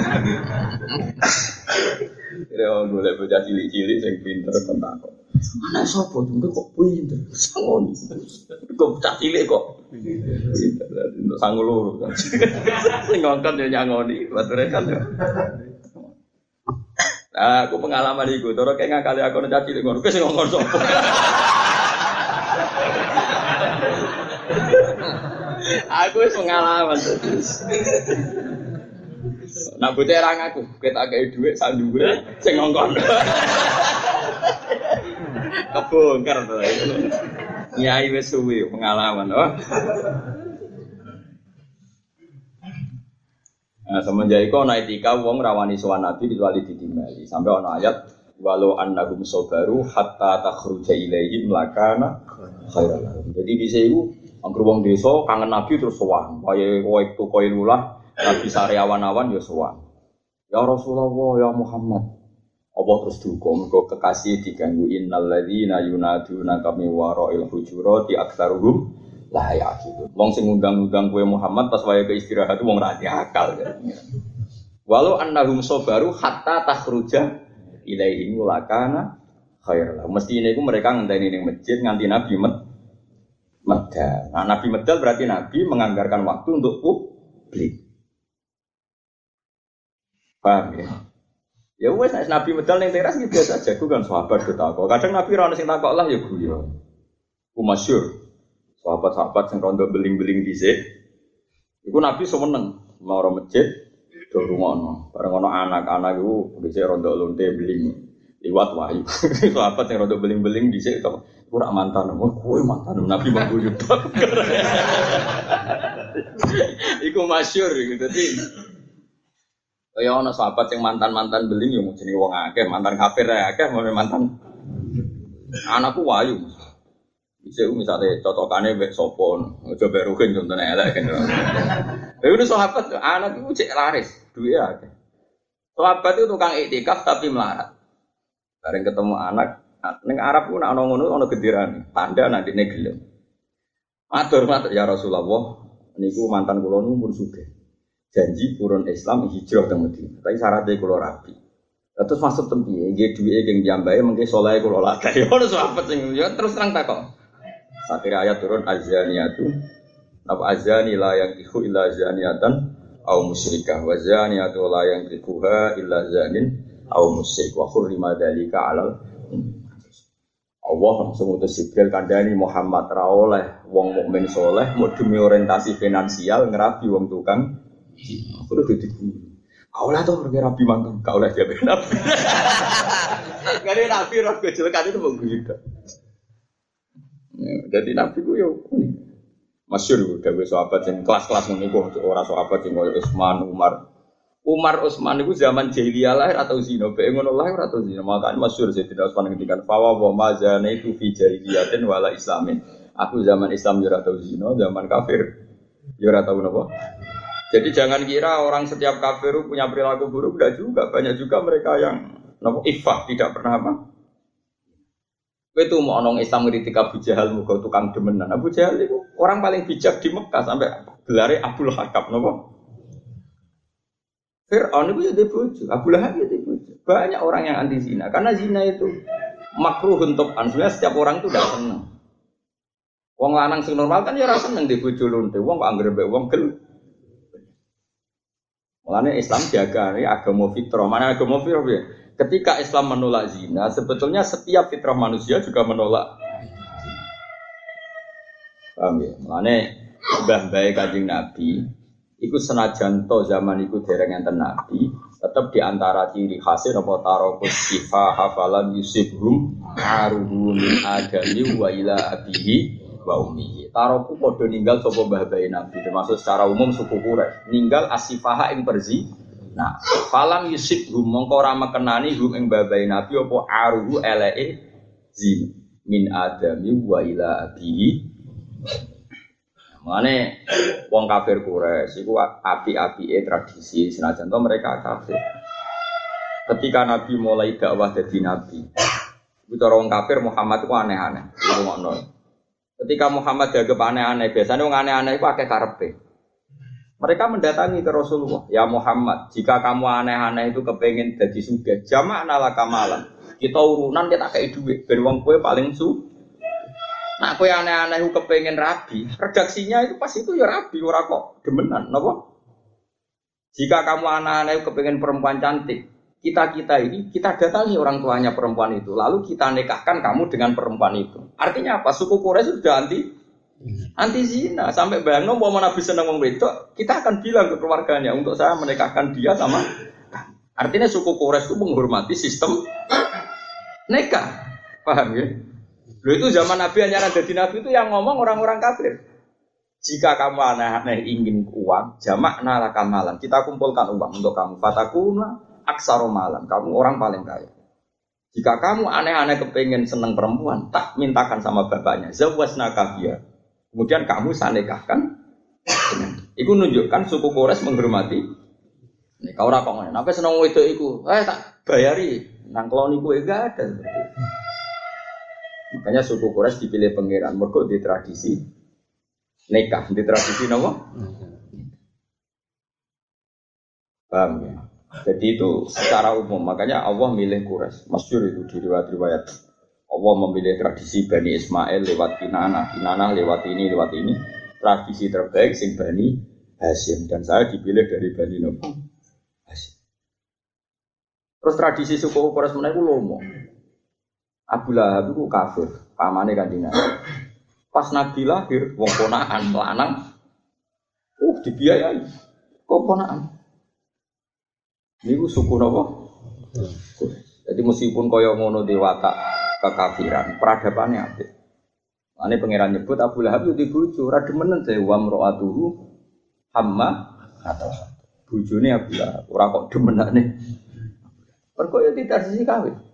Ya golek bocah cilik-cilik sing pinter kon takok. Anak sapa jengke kok pinter? Sangon. Kok bocah cilik kok. Untuk sangu loro. Sing ngongkon yo nyangoni, bature kan yo. Nah, aku pengalaman iku, cara kek ngakali aku nek cilik ngono, wis ngongkon sapa. Aku wis pengalaman terus. Nak bocah ra ngaku, ketak gawe dhuwit sak dhuwure sing ngongkon. Kebongkar to. Nyai wis suwi pengalaman, oh. Nah, semenjak iku ana etika wong rawani sowan Nabi kecuali ditimbali. Sampai ana ayat walau annahum sabaru hatta takhruja ilaihim lakana khairan lahum. Jadi dise iku angger wong desa kangen Nabi terus sowan. Kaya kowe tukoe lulah Nabi sariawan-awan ya sowan. Ya Rasulullah ya Muhammad. Apa terus duka mergo kekasih diganggu innal ladzina yunaduna kami wara'il hujurati aktsaruhum la yaqilun. Wong sing ngundang-undang kowe Muhammad pas wayahe istirahat wong ra akal. Walau annahum sabaru hatta takhruja ilaihim lakana khair. Mesti ini ku mereka ngenteni ning masjid nganti Nabi med medal. Nah, Nabi medal berarti Nabi menganggarkan waktu untuk publik. Paham ya? Ya wes Nabi medal ning teras iki biasa aja, ku kan sahabat ketakok. Kadang Nabi ra ono sing takok lah ya guyon. Ku masyhur. Sahabat-sahabat sing rondo beling-beling dhisik. Iku Nabi seneng mau ora masjid do rungono. Bareng ono anak-anak iku dhisik rondo lonte beling liwat wahyu. Sahabat sing rondo beling-beling dhisik to ora mantan. Oh, kowe mantan Nabi mangguyu. Iku masyhur gitu. Dadi kaya ana sahabat sing mantan-mantan beling yo jenenge wong akeh, mantan kafir akeh, mantan anakku wayu. Bisa misalnya cocokane mbek sapa, aja mbek Ruhin contone elek kan. Lha itu sahabat anak iku cek laris, duwe akeh. Sahabat itu tukang iktikaf tapi melarat. Bareng ketemu anak ning Arab ku nek ana ngono ana gendirane, tanda nek dene gelem. Matur matur ya Rasulullah, niku mantan kula nu pun sugih. Janji purun Islam hijrah ke Madinah. Tapi syaratnya kula rapi. Terus masuk tempiye, nggih duwike geng jambahe mengke saleh kula lagay. Ono sahabat sing yo terus terang takok. Akhir ayat turun azaniyatu. Napa azani la yang iku illa zaniatan au musyrikah wa zaniyatu la yang ikuha illa zanin au musyrik wa hurrima dzalika alal Allah langsung utus Jibril kandhani Muhammad ra oleh wong mukmin saleh mau demi orientasi finansial ngerabi wong tukang. Aku udah jadi kaulah tuh pergi rapi mantan, kaulah dia benar. Karena nabi roh kecelakaan itu mengguyur. Jadi nabi ku yo masyhur udah sahabat yang kelas-kelas menikuh orang sahabat yang kayak Utsman, Umar. Umar Utsman itu zaman jahiliyah lahir atau zina, bae ngono lahir atau zina. Makanya masyhur Sayyidina Utsman ngendikan fawa wa mazana itu fi jahiliyatin wala islamin. Aku zaman Islam yo ora tau zina, zaman kafir yo ora tau napa. Jadi jangan kira orang setiap kafir punya perilaku buruk, tidak juga. Banyak juga mereka yang nopo ifah, tidak pernah apa. Itu mau orang Islam ngeritik Abu Jahal, muka tukang demenan. Abu Jahal itu orang paling bijak di Mekah sampai gelarnya Abdul Hakam, nopo. Fir'aun itu jadi bojo, Abu Lahab jadi bojo. Banyak orang yang anti zina, karena zina itu makruh untuk sebenarnya setiap orang itu tidak senang. Wong lanang sing normal kan ya ora seneng di bojo lonte, wong kok anggere mbek wong gel. Mulane Islam jaga ini agama fitrah. Mana agama fitrah ya? Ketika Islam menolak zina, sebetulnya setiap fitrah manusia juga menolak. Paham ya? Mulane mbah-mbah Kanjeng Nabi iku senajan to zaman iku dereng enten nabi, tetep di antara ciri khasnya apa tarokus sifa hafalan yusibhum aruhu min adami wa ila abihi wa ummihi. Taroku padha ninggal sapa mbah-mbah nabi, termasuk secara umum suku Quraisy, ninggal asifaha ing perzi. Nah, falam yusibhum mongko ora mekenani hum ing mbah-mbah nabi apa aruhu eleke zin min adami wa ila abihi. Mane wong kafir Quraisy iku api-apike tradisi senajan to mereka kafir. Ketika Nabi mulai dakwah dadi nabi, iku cara wong kafir Muhammad iku aneh-aneh. Iku ngono. Ketika Muhammad dianggap aneh-aneh, biasanya wong aneh-aneh iku akeh karepe. Mereka mendatangi ke Rasulullah, "Ya Muhammad, jika kamu aneh-aneh itu kepengin dadi sugih, jama'na laka malan. Kita urunan kita kei dhuwit ben wong kowe paling su Nah, aku yang aneh-aneh aku kepengen rabi, redaksinya itu pas itu ya rabi, ora kok demenan, napa? Jika kamu aneh-aneh kepengen perempuan cantik, kita-kita ini, kita datangi orang tuanya perempuan itu, lalu kita nikahkan kamu dengan perempuan itu. Artinya apa? Suku Quraisy sudah anti anti zina. Sampai bayangno mau Nabi seneng wong wedok, kita akan bilang ke keluarganya untuk saya menikahkan dia sama. Artinya suku Quraisy itu menghormati sistem nikah. Paham ya? Loh itu zaman Nabi hanya ada di Nabi itu yang ngomong orang-orang kafir. Jika kamu aneh-aneh ingin uang, jamak nalaka malam. Kita kumpulkan uang untuk kamu. Fatakuna aksaro malam. Kamu orang paling kaya. Jika kamu aneh-aneh kepengen seneng perempuan, tak mintakan sama bapaknya. Zawasna kafia. Kemudian kamu saya nikahkan. Itu menunjukkan suku Quraisy menghormati. Nih kau ora kok ngene. Napa seneng wedok iku? Eh tak bayari. Nang kelon iku enggak ada. Makanya suku Quraisy dipilih pangeran mergo di tradisi nikah, di tradisi napa? Paham ya? Jadi itu secara umum, makanya Allah milih Quraisy. Masyhur itu di riwayat-riwayat. Allah memilih tradisi Bani Ismail lewat Kinanah, Kinanah lewat ini, lewat ini. Tradisi terbaik sing Bani Hasyim dan saya dipilih dari Bani Nabi Hasyim. Terus tradisi suku Quraisy menawa lomo. Abu Lahab itu kafir, pamane Kanjeng Nabi. Pas Nabi lahir, wong ponakan lanang, uh dibiayai, kok ponakan. Niku suku napa? Jadi meskipun kaya ngono dewata kekafiran, peradabannya apik. Ane pangeran nyebut Abu Lahab itu dibojo, ora demenen saya wa mraatuhu hamma atau bojone Abu Lahab, ora kok demenane. Perko ya tidak sisi kawin.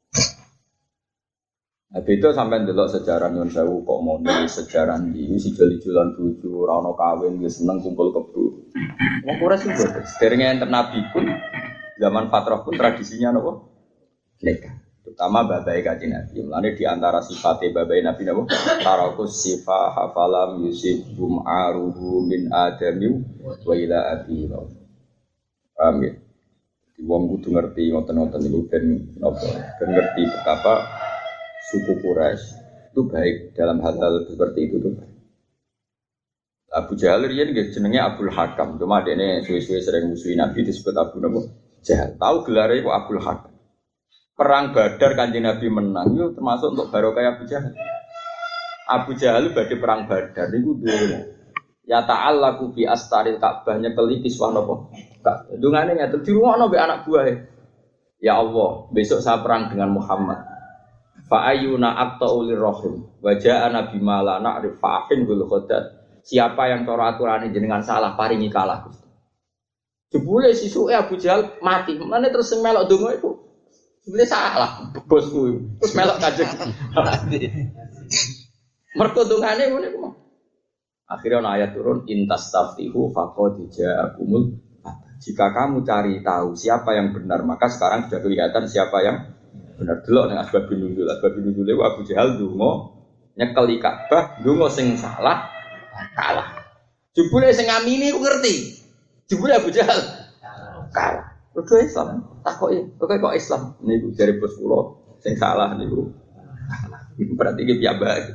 Nah, itu sampai ndelok sejarah Nyun Sewu kok mau nulis sejarah iki si jeli-jelan bojo ora ono kawin wis seneng kumpul kebo. Wong Quraisy juga sederenge enten nabi pun zaman fatrah pun tradisinya napa? Nikah. Terutama babai Kanjeng Nabi. Mulane di antara sifatnya babai Nabi napa? Tarakus sifa hafalam yusibum aruhu min adami wa ila abi. Paham ya? Di wong kudu ngerti ngoten-ngoten niku ben napa? Ben ngerti betapa suku Quraisy itu baik dalam hal-hal seperti itu tuh. Abu Jahal riyen nggih jenenge Abdul Hakam, cuma dekne suwe-suwe sering musuhi Nabi disebut Abu Nabo Jahal. Tahu gelare iku Abdul Hakam. Perang Badar Kanjeng Nabi menang yo termasuk untuk barokah Abu Jahal. Abu Jahal badhe perang Badar niku duwe ya ta'allaku bi astaril Ka'bah nyekeli kiswah napa? Ka'bah. Dungane ngatur dirungokno mbek anak buahe. Ya Allah, besok saya perang dengan Muhammad. Fa ayyuna aqta'ulir rahim wa ja'a nabi mala na'rif fa'in bil khadat. Siapa yang cara aturane jenengan salah paringi kalah Gusti. Jebule sisuke Abu Jahal mati. Mane terus melok donga iku. Jebule salah bosku. Terus melok Kanjeng. Mergo dongane ngene iku. Akhirnya ana ayat turun intastaftihu faqad ja'akumul. Jika kamu cari tahu siapa yang benar, maka sekarang sudah kelihatan siapa yang benar. Delok ning asbabun nuzul. Asbabun nuzul itu Abu Jahal donga nyekeli Ka'bah, donga sing salah kalah. Jebule sing ngamini ku ngerti. Jebule Abu Jahal kalah. Kudu Islam. Takoki, kok kok Islam niku jare bos kula sing salah niku. Berarti iki piyambak.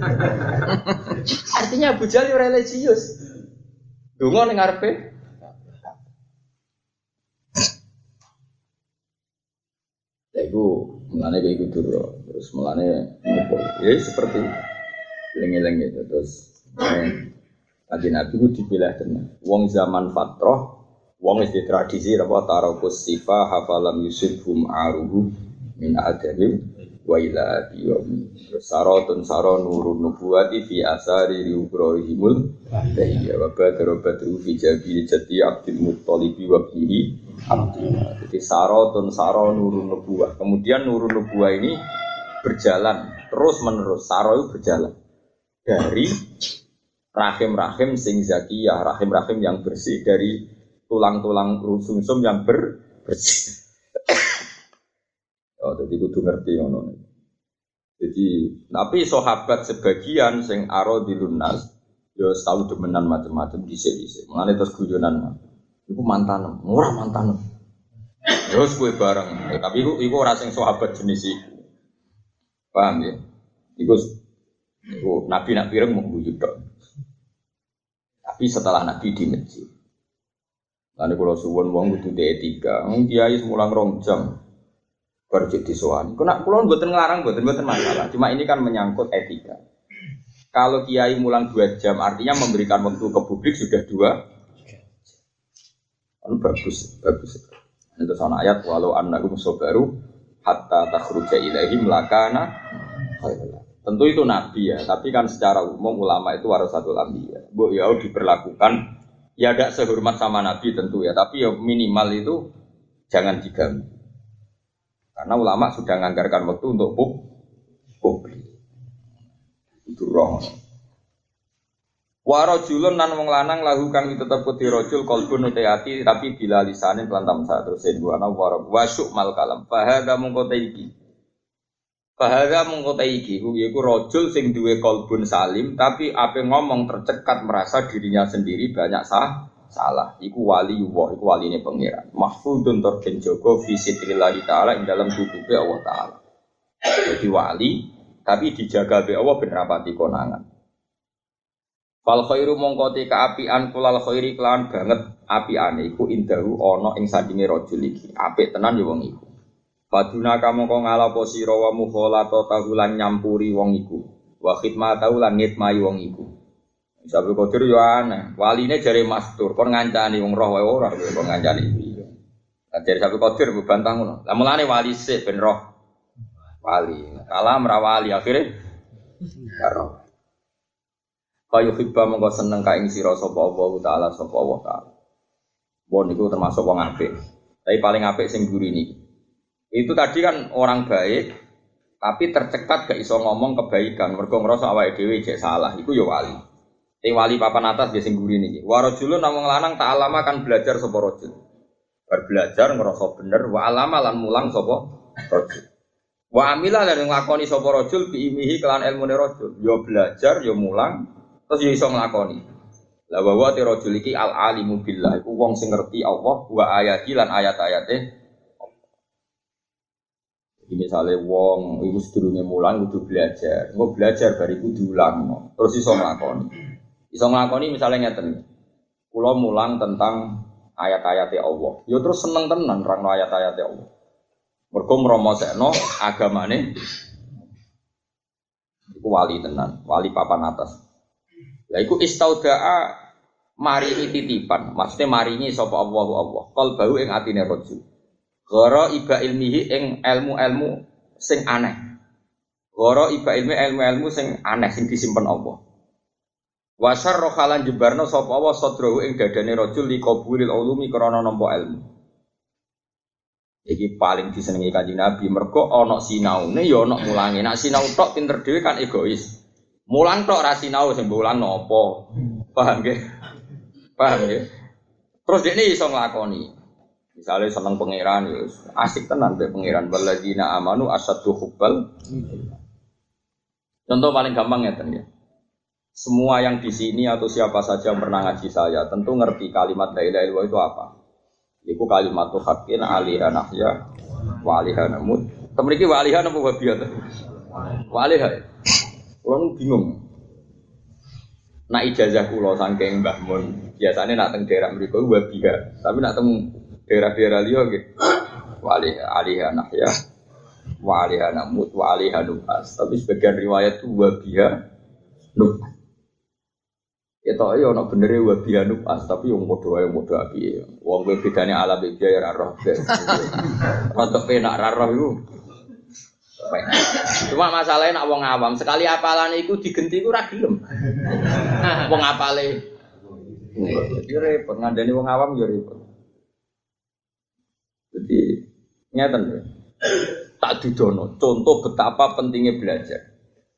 Artinya Abu Jahal religius. Donga ning ngarepe. Ya iku mulane kayak gitu dulu. Terus mulane ngopo. Ya seperti lengi-lengi itu terus Kanjeng Nabi ku dipilah tenan. Wong zaman fatrah, wong wis tradisi apa tarakus sifa hafalam yusibhum aruhu min adabim wa ila yawmi. Saratun saron nurun nubuwati fi asari riubrahimul tahiyya wa badru badru fi jabil jati Abdul Muttalib wa bihi Abdullah. Jadi saratun saron nurun nubuwah. Kemudian nurun nubuwah ini berjalan terus menerus. Saro itu berjalan dari rahim-rahim sing zakiyah, rahim-rahim yang bersih, dari tulang-tulang sumsum yang ber bersih. Oh, jadi kudu ngerti ngono. Jadi, tapi sahabat sebagian sing aradilun nas yo tau demenan macam-macam dhisik-dhisik. Mulane terus guyonan. Iku mantan, ora mantan. Yo kowe bareng, eh, tapi iku iku ora sing sahabat jenis iku. Paham ya? Iku iku Nabi nak pireng mung guyu tok. Tapi setelah Nabi di masjid, lalu kalau suwon wong kudu etika, kiai semulang rong jam berjek disowan. Kena kulon buatan ngelarang, buatan buatan masalah. Cuma ini kan menyangkut etika. Kalau kiai mulang dua jam, artinya memberikan waktu ke publik sudah dua. Lalu bagus, bagus. Itu sana ayat walau annakum sabaru hatta takhruja ilaihim lakana khairan. Tentu itu nabi ya, tapi kan secara umum ulama itu warasatul anbiya. Bu ya diperlakukan ya tidak sehormat sama nabi tentu ya, tapi ya minimal itu jangan diganggu. Karena ulama sudah menganggarkan waktu untuk publik. Itu roh. Warajulun nan wong lanang lahu kang tetep kudu rajul qalbun ati tapi bila lisane kelantam sak terus dua ana warab wasyuk mal kalam. Fa hadza mungko iki. Bahaya mengkota iki, yaiku rojul sing duwe kolbun salim, tapi ape ngomong tercekat merasa dirinya sendiri banyak sah, salah. Iku wali Allah, iku wali ini pengiran. Mahfudun terken jogo visitrillahi ta'ala ing dalam tubuhe Allah ta'ala. Jadi wali, tapi dijaga be Allah ben rapati konangan. Fal khairu mongkoti kaapian kulal khairi kelawan banget apiane iku indahu ana ing sandinge rojul iki. Apik tenan ya wong iku. Paduna kamu kok ngalapo sira wa mukhalata tahulan nyampuri wong iku. Wa khidmatahu lan ngitmai wong iku. Sabtu Qadir yo aneh. Waline jare mastur kon ngancani wong roh wae ora kok ngancani iki. Lah jare Sabtu Qadir bantah ngono. Lah mulane wali sik ben roh. Wali. Kalah ora wali akhire karo. Kaya hibba mongko seneng ka ing sira sapa Allah taala sapa Allah taala. Wong niku termasuk wong apik. Tapi paling apik sing guri niki. Itu tadi kan orang baik, tapi tercekat gak iso ngomong kebaikan. Mergo ngrasa awake dhewe jek salah, iku ya wali. Te wali papan atas biasa ngguri niki. Wa rajulun namung lanang ta'alama kan belajar sapa rajul. Bar belajar ngrasa bener wa alama lan mulang sapa rajul. Wa amila lan nglakoni sapa rajul bi imihi kelan ilmune rajul. Ya belajar, ya mulang, terus ya iso nglakoni. La wa te rajul iki al alimu billah, iku wong sing ngerti Allah wa ayati lan ayat-ayate. Ini misalnya wong iku sedurunge mulang kudu belajar. Engko belajar bariku diulangno. Terus iso nglakoni. Iso nglakoni misalnya ngeten. Kula mulang tentang ayat-ayate Allah. Ya terus seneng tenan nerangno ayat-ayate Allah. Mergo mromosekno agamane iku wali tenan, wali papan atas. Lah iku istaudaa maringi titipan. Maksudnya maringi sapa Allahu Allah. Qalbu ing atine rajul. Goro iba ilmihi ing ilmu-ilmu sing aneh. Goro iba ilmi ilmu-ilmu sing aneh sing disimpen Allah. Wasar rohalan jebarno sapa Allah sadrohu ing dadane rajul liqabulil ulumi krana nampa ilmu. Iki paling disenengi Kanjeng Nabi mergo ana sinaune ya ana mulange. Nek sinau tok pinter dhewe kan egois. Mulang tok ra sinau sing mulang napa. Paham nggih? Paham nggih? Terus dekne iso nglakoni. Misale seneng pangeran ya asik tenan mbek pangeran waladina amanu asaddu hubbal. Contoh paling gampang ngeten ya. Semua yang di sini atau siapa saja yang pernah ngaji saya tentu ngerti kalimat la ilaha illallah itu apa. Iku kalimat haqqin alaiha nahya wa alaiha namut. Temriki wa alaiha napa wabiyat. Wa alaiha. Kulo bingung. Nak ijazah kula saking Mbah Mun, biasane nak teng daerah mriku wabiha, tapi nak teng daerah-daerah liya nggih wa alaiha nahya wa alaiha namut wa alaiha nubas. Tapi sebagian riwayat itu wabiha nubas. Ya toh ya ana benere wa bihanub as tapi wong padha wae padha api. Wong kowe bedane ala beda ya ora roh. Rodok penak ra roh iku. Cuma masalahnya nak wong awam sekali apalane iku digenti iku ora gelem. Wong apale. Jadi repot ngandani wong awam ya repot. Jadi ngeten ya. Tak didono contoh betapa pentingnya belajar.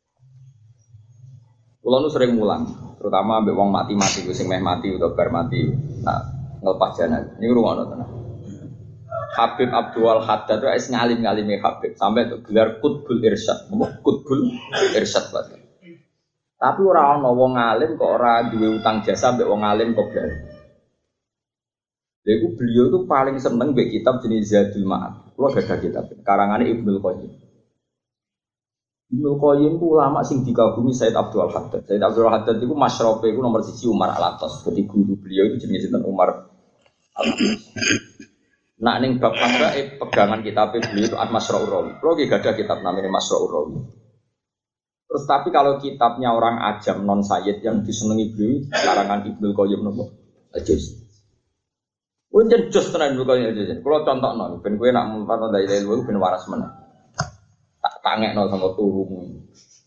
Kulo nu sering mulang, terutama ambek wong mati-mati sing meh mati utawa bar mati. Nah, nglepas janan. Niku rungono tenan. Habib Abdul Haddad wis ngalim-ngalime Habib sampai untuk gelar Qutbul Irsyad. Qutbul Irsyad Pak. Tapi ora ana wong alim kok ora duwe utang jasa ambek wong alim kok blas. Lha iku beliau tuh paling seneng mbek kitab jenis Zadul Ma'ad. Kulo gadah kitab karangane Ibnu Qayyim. Ibnu Qayyim itu ulama sing dikagumi Said Abdul Haddad. Said Abdul Haddad itu masyarape itu nomor siji Umar Al-Atas. Jadi guru beliau itu jenis sinten Umar Al-Atas. Nak ning bab fakih pegangan kitab beliau itu Al-Masra'ur Rawi. Kalau gak ada kitab namanya Masra'ur Rawi. Terus tapi kalau kitabnya orang ajam non sayyid yang disenangi beliau karangan Ibnu Qayyim nopo? Ajus. Unjen jos tenan Ibnu Qayyim ajus. Kalau contohno ben kowe nak mumpat ndai ilmu ben waras meneh. Tak tangekno sama turumu.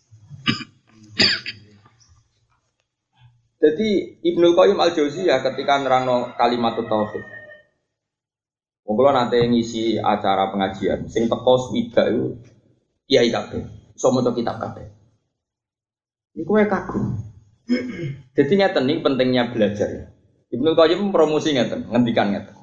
Jadi Ibnu Qayyim Al-Jauziyah ketika nerangno kalimat tauhid. Wong kula nate ngisi acara pengajian, sing teko swidak iku kiai kabeh, iso maca kitab kabeh. Niku wae kagum. Jadi ngeten iki pentingnya belajar. Ibnu Qayyim promosi ngeten, ngendikan ngeten.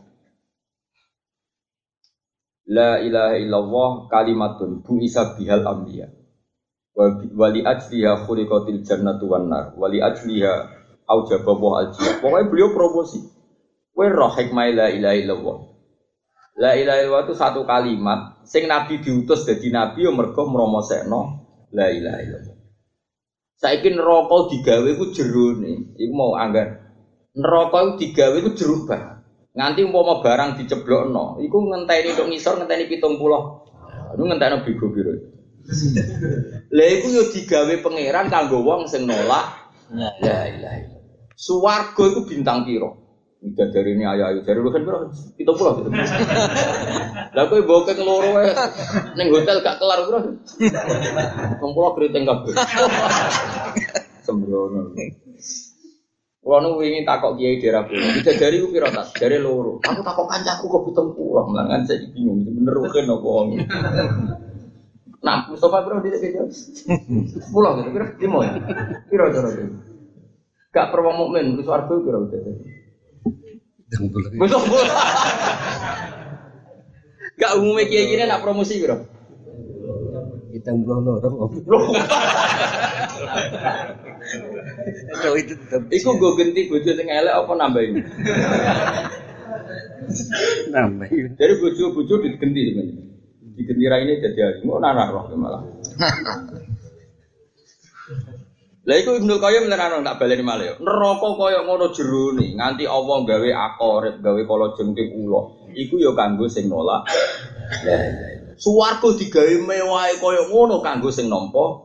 La ilaha illallah kalimatun bu'isa bihal anbiya wa li ajliha khuliqatil jannatu wan nar wa li ajliha aujaba wa ajliha. Pokoknya beliau promosi. Kowe roh hikmah la ilaha illallah. La ilaha illallah itu satu kalimat sing nabi diutus dadi nabi yo mergo mromosekno la ilaha illallah. Saiki neraka digawe ku jerone, iku mau anggar. Neraka iku digawe ku jeruk banget. Nganti umpama barang diceblokno, iku ngenteni tok ngisor ngenteni pitung puluh. Iku ngentekno bego piro. Lah iku yo digawe pangeran kanggo wong sing nolak la ilaha illallah. Swarga iku bintang piro? Midadarine ayo-ayo jare kan piro? pitung puluh gitu. Lah kowe bokek loro wae ning hotel gak kelar piro? pitung puluh keriting kabeh. Sembrono. Kulo nu wingi takok kiai daerah kulo. Bidadari ku piro tas? Jare loro. Aku takok kancaku kok pitung puluh. Mlangan saiki bingung bener kok apa wong. Nah, Mustafa bro dhisik iki. sepuluh gitu piro? lima ya. Piro cara iki? Gak perlu mukmin ku swarga piro bidadari. pitung puluh. Gak umume kiai kene nak promosi piro? pitung puluh loro. Kalau itu tetap. Iku gue ganti bojo sing elek apa nambahin? Nambahin. Jadi bojo-bojo diganti sebenarnya. Diganti ra ini jadi hari. Mau nana roh malah. Lah iku Ibnu Qayyim nerangno tak baleni malih yo. Neraka kaya ngono jerone, nganti Allah gawe akorip, gawe kala jengking ula. Iku yo kanggo sing nolak. Lah swarga digawe mewahe kaya ngono kanggo sing nampa.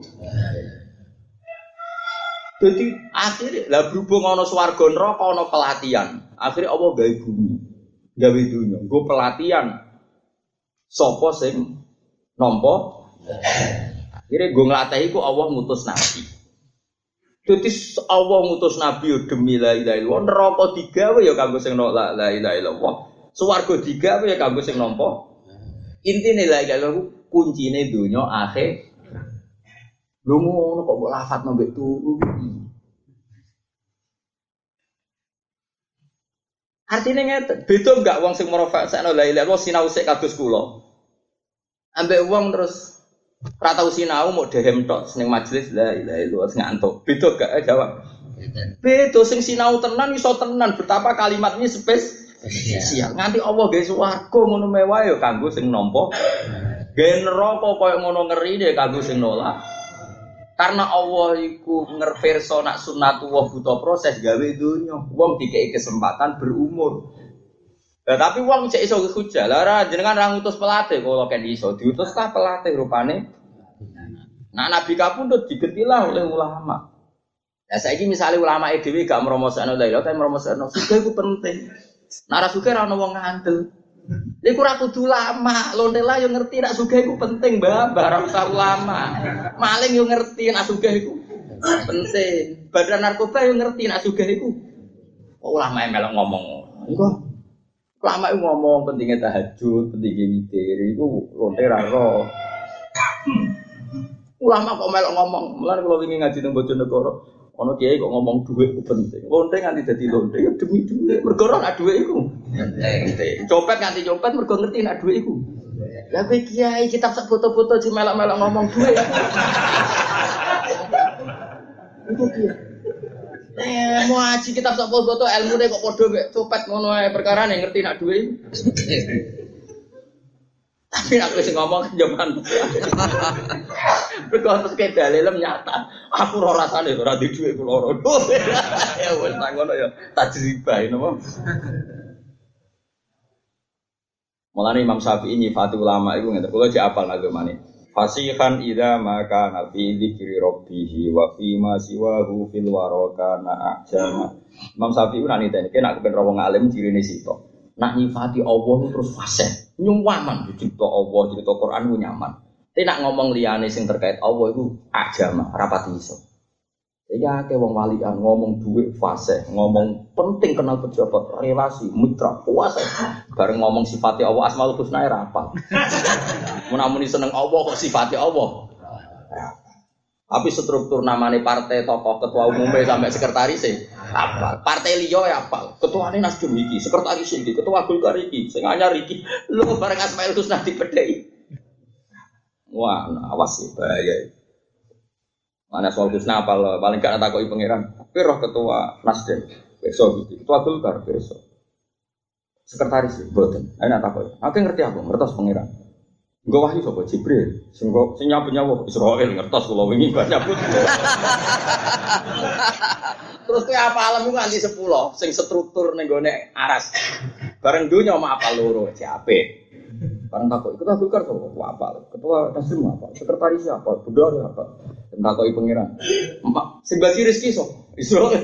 Jadi akhirnya lah berhubung ana swarga neraka ana pelatihan. Akhirnya Allah gawe bumi, gawe dunya, nggo pelatihan. Sapa sing nampa? Akhirnya nggo nglatih iku Allah ngutus nabi. Jadi Allah ngutus nabi yo demi la ilaha illallah, neraka digawe ya kanggo sing la ilaha illallah. Swarga digawe ya kanggo sing nampa. Intine la ilaha illallah kuncine dunya akhir. Lho ngono kok mbok lafadzno mbek turu. Artinya ngeten, beda enggak wong sing merofakno la ilaha illallah sinau sik kados kula. Ambek wong terus ora tau sinau mau dehem tok ning majelis la ilaha illallah ngantuk. Beda gak jawab. Beda sing sinau tenan iso tenan betapa kalimatnya spesial. Nganti Allah gawe swarga ngono mewah ya kanggo sing nampa. Gawe neraka koyo ngono ngerine kanggo sing nolak. Karena Allah iku ngerverso nak sunnatullah buta proses gawe donya. Wong dikei kesempatan berumur. Lah tapi wong cek iso hujah. Lah ora jenengan ra ngutus pelatih kula kan iso diutus ta pelatih rupane. Nah Nabi kapundhut digetilah oleh ulama. Lah saiki misale ulama e dhewe gak mromosakno la ilaha tapi mromosakno sugih iku penting. Nek ora sugih ora ono wong ngandel. Iku ora kudu lama, lontela yo ngerti nek sugih iku penting, Mbah, ora usah ulama. Maling yo ngerti nek sugih iku penting. Badan narkoba yo ngerti nek sugih iku. Kok ulama melok ngomong. Iku ulama iku ngomong pentingnya tahajud, pentingnya witir, iku lontera ro. Ulama kok melok ngomong, mulane kalau wingi ngaji nang Bojonegoro, ana kiai kok ngomong dhuwit ku penting. Lonte nganti dadi lonte ya demi dhuwit. Mergo ora ana dhuwit iku. Penting. Copet nganti copet mergo ngerti nek dhuwit iku. Lah kowe kiai kitab sak foto-foto di melok-melok ngomong dhuwit. Iku piye? Eh mau ngaji kitab sak foto ilmune kok padha mek copet ngono ae perkarane ngerti nek dhuwit. Tapi aku sing ngomong jaman. Berkau terus kayak dalilem nyata. Aku ora rasane ora di dhuwit kula ora. Ya wis tak ngono ya tajribah napa. Mulane Imam Syafi'i nyifati ulama iku ngene. Kula jek apal nagemane. Fasihan idza maka nabi dzikri rabbih wa fi ma siwahu fil waraka na ajama. Imam Syafi'i ora niteni nek kepen wong alim cirine sitok. Nak nyifati Allah terus fasih. Nyuwaman dicipta Allah, cerita Quran ku nyaman. Tapi nak ngomong liyane sing terkait Allah iku ajama, rapati iso. Ya akeh wong walian ngomong dhuwit fase, ngomong penting kenal pejabat, relasi, mitra, kuasa. Bareng ngomong sifate Allah Asmaul Husna ora hafal. Mun seneng Allah kok sifate Allah. Tapi struktur namanya partai, tokoh, ketua umumnya sampai sekretarisnya apa? Partai liya ya apa? Ketuane Nasdem iki, sekretaris iki, ketua Golkar iki, sing anyar iki. Lho bareng Asmaul Husna dipedheki. Wah, awas sih bahaya. Mana soal Husna apal paling gak takoki pangeran. Tapi roh ketua Nasdem besok iki, ketua Golkar besok. Sekretaris iki mboten. Ana takoki. Aku ngerti aku, ngertos pangeran. Engko wahyu sapa Jibril, sing kok sing nyapu-nyapu Israil ngertos kula wingi nyabut. Terus kowe apa alam iku nganti sepuluh sing struktur ning gone aras. Bareng donya mak apa loro ciape. Bareng takok iku takok karo sapa apa? Ketua Nasdem apa? Sekretaris apa? Bendara apa? Takoki pangeran. Mak sing bagi rezeki sapa? Israil.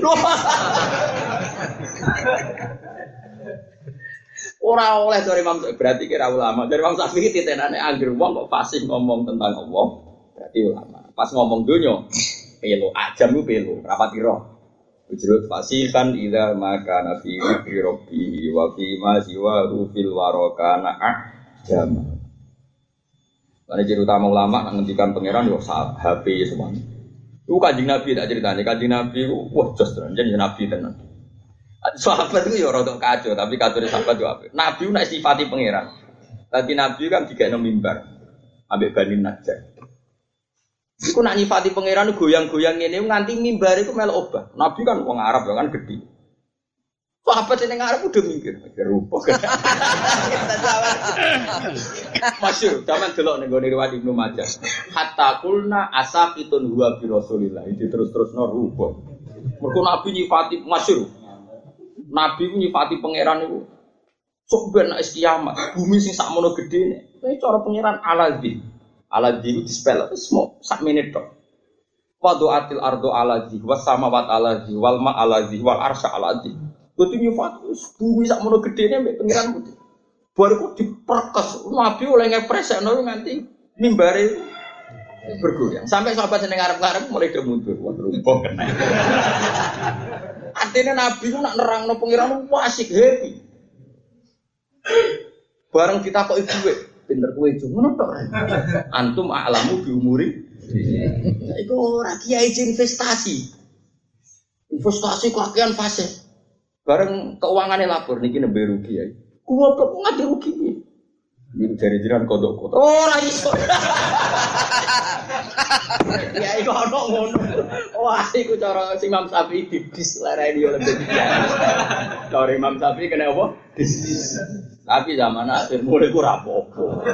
Ora oleh dari Imam Syafi'i berarti kira ulama. Dari Imam Syafi'i titenane anggere wong kok fasih ngomong tentang Allah, berarti ulama. Pas ngomong donya, pelo ajam ku pelo, rapati roh. Ujrut fasihan idza maka nafi bi rabbi wa fi ma siwa fil warakana ajam. Lan ciri utama ulama ngendikan pangeran yo H P semuanya. Itu Kanjeng Nabi tak ceritane, Kanjeng Nabi wah jos tenan, jeneng Nabi tenan. Sahabat itu ya rada kacau, tapi kacau sahabat juga apa? Nabi nak sifati pangeran. Tadi Nabi kan tiga enam mimbar, ambek Bani Najjar. Iku nak nyifati pangeran goyang-goyang ini, nganti mimbar itu melu obah. Nabi kan orang Arab kan gede. Sahabat yang Arab udah mikir, mikir rupa. Masyur, zaman delok nih gue riwayat Ibnu Majah. Hatta kulna asakitun huwa bi Rasulillah. Itu terus-terus no rupa. Mergo Nabi nyifati masyur. Nabi ku nyifati pangeran itu sok ben nek kiamat bumi sing sakmono gedene iki cara pangeran Aladzi Aladzi ku dispel semua sak menit tok wadu'atil ardu Aladzi was samawat Aladzi wal ma Aladzi wal arsy Aladzi kudu nyifati bumi sakmono gedene mek pangeran putih baru ku diperkes Nabi oleh ngepresekno nganti mimbare bergoyang sampai sahabat seneng arep-arep mulai do mundur wah rumpuk kena. Artinya Nabi itu nak nerangno pangeran wasik happy. Bareng kita kok ibu pinter kowe itu ngono tok. Antum a'lamu bi umuri Iku ora kiai investasi. Investasi kakean fase. Bareng keuangannya lapor niki nembe rugi ya. Kuwi kok ngadi rugi iki. Iki jare jiran kodok-kodok. Ora iso. Ya iku ono ngono. Wah, iku cara Imam Syafi'i dibis lereni yo lebih. Cara Imam Syafi'i kena apa? Dis. Tapi zaman akhir mulai ku ra apa-apa.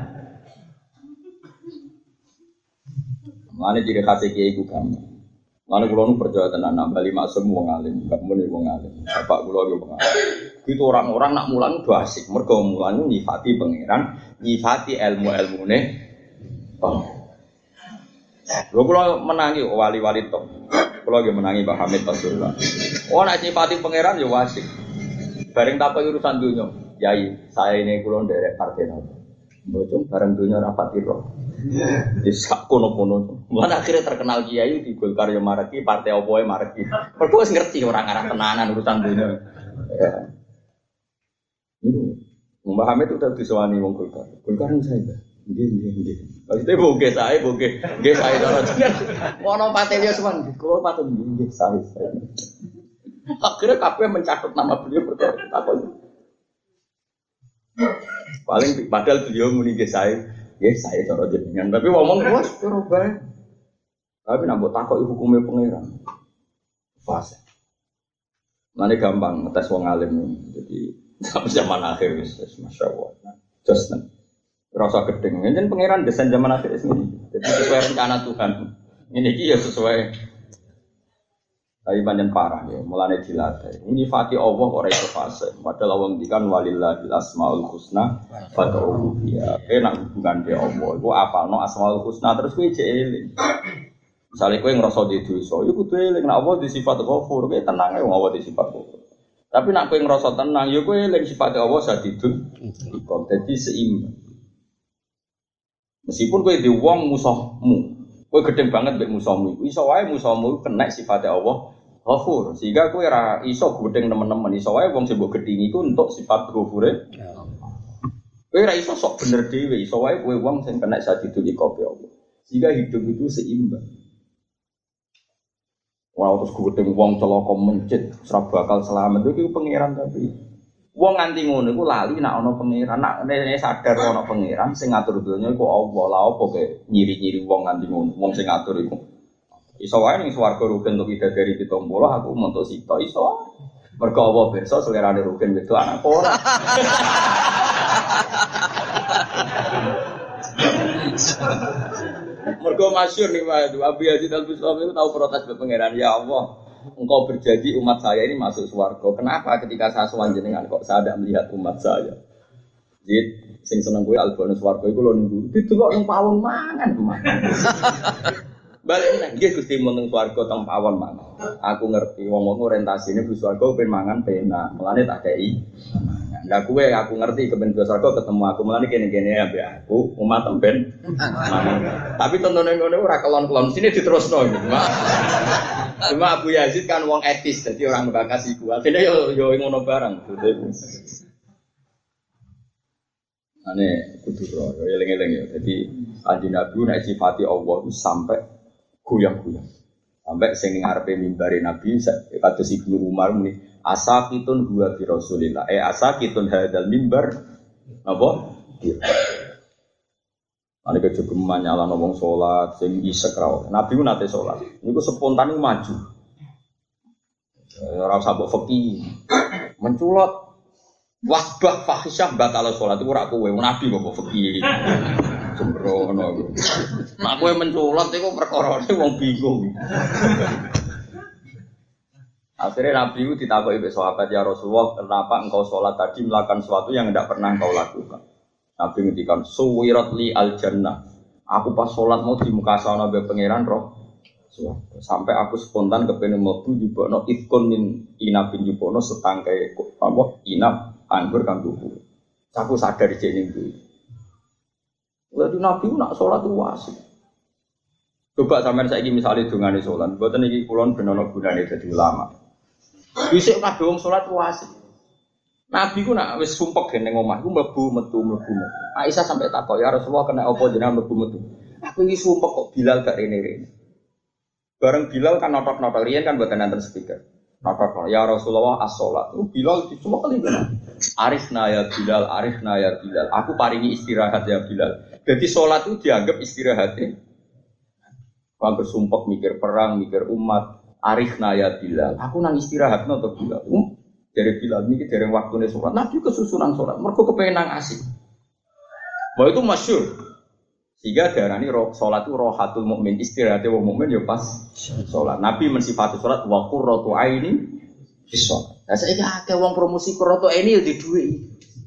Mane jire khase kiai ku gampang. Mane kula nu percaya tenan nambali maksum wong alim, gak muni wong alim. Bapak kula yo wong alim. Gitu orang-orang nak mulang do asik, mergo mulang nyifati pangeran, nyifati ilmu-ilmune. Oh. Lho kula menangi wali-wali tok. Kula nggih menangi Pak Hamid Rasulullah. Oh nak nyifati pangeran yo asik. Bareng takok urusan donya. Yai, saya ini kula nderek partai nopo. Mbocong bareng donya rapat piro. Di sak kono-kono. Mulane akhirnya terkenal kiai di Golkar yo mareki, partai opo e mareki. Mergo wis ngerti orang arah tenanan urusan donya. Ya. Ini Mbah Hamid itu tadi disewani wong Golkar. Golkar ini saya. Nggih, nggih, nggih. Maksudnya boge saya, boge. Nggih saya cara jeneng. Ono patelio semen. Kulo patut nggih saya. Akhirnya kabeh mencatat nama beliau berkata apa? Paling padahal beliau muni nggih saya. Nggih saya cara jenengan. Tapi ngomong wes ora bae. Tapi nambah takoki hukume pangeran. Fase. Mane gampang ngetes wong alim. Jadi sampai zaman akhir wis masyaallah. Just nen. Rasa gedeng. Yen pangeran desain zaman akhir ini. Jadi sesuai rencana Tuhan. Ini iki ya sesuai. Tapi panjang parah ya, mulane dilatih. Ini fati Allah kok ora iso fase. Padahal Allah ngendikan walillahil asmaul husna fad'uhu biha. Enak hubungan be Allah. Iku apalno asmaul husna terus kowe jek eling. Misale kowe ngrasa di dosa, iku kudu eling nek Allah di sifat ghafur, kowe tenang ae wong Allah di sifat ghafur. Tapi nek kowe ngrasa tenang, ya kowe eling sifat Allah sadidun. Iku dadi seimbang. Meskipun kowe di wong musuhmu, kowe gedeng banget mbek musuhmu iku, iso wae musuhmu kena sifat Allah Ghafur, sehingga kowe ora iso gedeng temen-temen, iso wae wong sing mbok gedhingi iku untuk sifat ghafure. Kowe ora iso sok bener dhewe, iso wae kowe wong sing kena sadidul iqabe Allah. Sehingga hidup itu seimbang. Ora terus gedeng wong celaka mencit, ora bakal selamat iku pangeran tapi. Wong nganti ngono iku lali nek ana pangeran, nek sadar ana pangeran sing ngatur donya iku Allah. Lah opo kowe nyiri-nyiri wong nganti ngono, wong sing ngatur iku. Iso wae ning swarga rugen untuk ida dari pitung puluh aku mentuk sita iso. Mergo apa pirsa selerane rugen itu anak ora. Mergo masyhur nih Pak Abu Yazid Al-Bustami itu tahu protes ke pangeran, ya Allah, engkau berjanji umat saya ini masuk swarga. Kenapa ketika saya sowan jenengan kok saya tidak melihat umat saya? Jid sing seneng kowe albone swarga iku lho nunggu. Didelok nang pawon mangan. Balik nang nggih Gusti mun nang swarga teng pawon mangan. Aku ngerti wong-wong orientasine bu swarga ben mangan penak. Mulane tak kei. Lah kowe aku ngerti kepen bu swarga ketemu aku mulane kene-kene ambek aku umat ben mangan. Tapi tontone ngono ora kelon-kelon sini diterusno iki. Cuma Abu Yazid kan wong etis dadi orang bakasi ku. Dene yo yo ngono barang. Ane kudu ro yo eling-eling yo. Dadi kanjeng Nabi nek sifati Allah itu sampai goyang-goyang. Sampai sing ning ngarepe mimbare Nabi kados Ibnu Umar muni asaqitun huwa bi Rasulillah. Eh asaqitun hadzal mimbar apa? Ane kejogeman nyalano wong salat sing isek ra. Nabi ku nate salat. Niku spontan maju. Ora usah mbok feki. Menculot wasbah fahisyah batal salat iku ora kowe Nabi kok feki. Sembrono. Nek kowe menculot iku perkarane wong bingung. Akhirnya Nabi itu ditakoki oleh sahabat, ya Rasulullah, kenapa engkau sholat tadi melakukan sesuatu yang tidak pernah engkau lakukan? Nabi ngendikan, suwirat li al jannah. Aku pas sholat mau di muka sana be pangeran roh. Sampai aku spontan kepengen mlebu jupukno ifkun min inabin jupukno setangkai apa inab anggur kang tuku. Aku sadar jek ning kuwi. Lalu Nabi nak sholat itu wasik. Coba sampean saiki misale dongane sholat, mboten iki kula ben ana gunane dadi ulama. Wisik kabeh wong sholat wasik. Nabi ku nak wis sumpek ning omah, ku mlebu metu mlebu. Aisyah sampai takok, ya Rasulullah kena apa jenengan mlebu metu? Aku Aku ini sumpah kok Bilal gak rene-rene. Bareng Bilal kan notok-notok riyen kan buatan nanti speaker. Notok ya Rasulullah as-sholat. Oh, Bilal itu cuma kali kan. Arifna ya Bilal, arifna ya Bilal. Aku paringi istirahat ya Bilal. Jadi sholat itu dianggap istirahatnya. Kalau bersumpah mikir perang, mikir umat. Arifna ya Bilal. Aku nang istirahat untuk Bilal. Um, dari Bilal ini dari waktunya sholat. Nabi kesusunan sholat. Mereka kepengen nang asik. Bahwa itu masyhur. Sehingga darani sholat itu rohatul mukmin, istirahatnya wong mukmin ya pas sholat. Nabi mensifati sholat wa qurratu aini bis sholat. Lah saiki akeh wong promosi qurratu aini ya di dhuwit.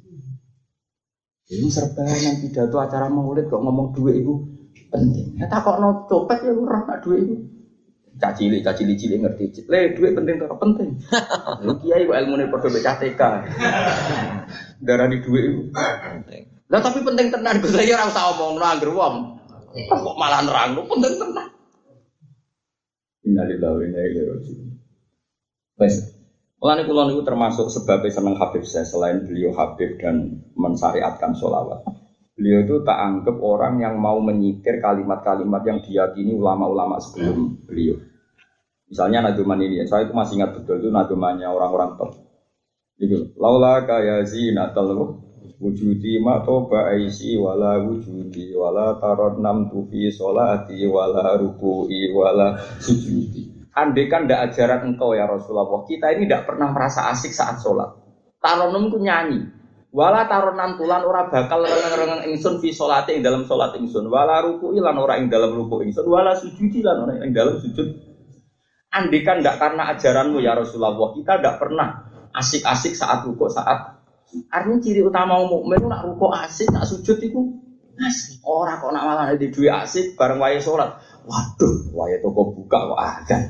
Ini serbanan pidato acara maulid kok ngomong dhuwit itu penting. Ya takokno copet ya ora nak dhuwit itu. Cacili cacili cilik ngerti. Le dhuwit penting to penting. Lha kiai kok ilmune padha becah T K. Darani dhuwit itu penting. Lah tapi penting tenan Gus ya ora usah omongno angger wong. Kok malah nerangno penting tenan. Innalillahi wa inna ilaihi raji'un. Wes. Mulane kula niku termasuk sebab seneng Habib saya selain beliau Habib dan mensyariatkan sholawat. Beliau itu tak anggap orang yang mau menyitir kalimat-kalimat yang diyakini ulama-ulama sebelum beliau. Misalnya naduman ini, saya itu masih ingat betul itu nadumannya orang-orang top. Gitu. Laula kaya zinatal wujudi ma toba aisi wala wujudi wala tarodnam tufi sholati wala ruku'i wala sujudi. Andai kan tidak ajaran engkau ya Rasulullah, kita ini tidak pernah merasa asik saat sholat. Tarodnam itu nyanyi. Wala tarodnam tulan ora bakal rengeng-rengeng ingsun fi sholati ing dalam sholat ingsun. Wala ruku'i lan ora ing dalam ruku' ingsun. Wala sujudi lan ora ing dalam sujud. Andai kan tidak karena ajaranmu ya Rasulullah, kita tidak pernah asik-asik saat ruku' saat artinya ciri utama mukmin nak rukuk asik, nak sujud itu asik. Orang kok nak malah di duit asik bareng wae sholat. Waduh, wae toko buka kok agan.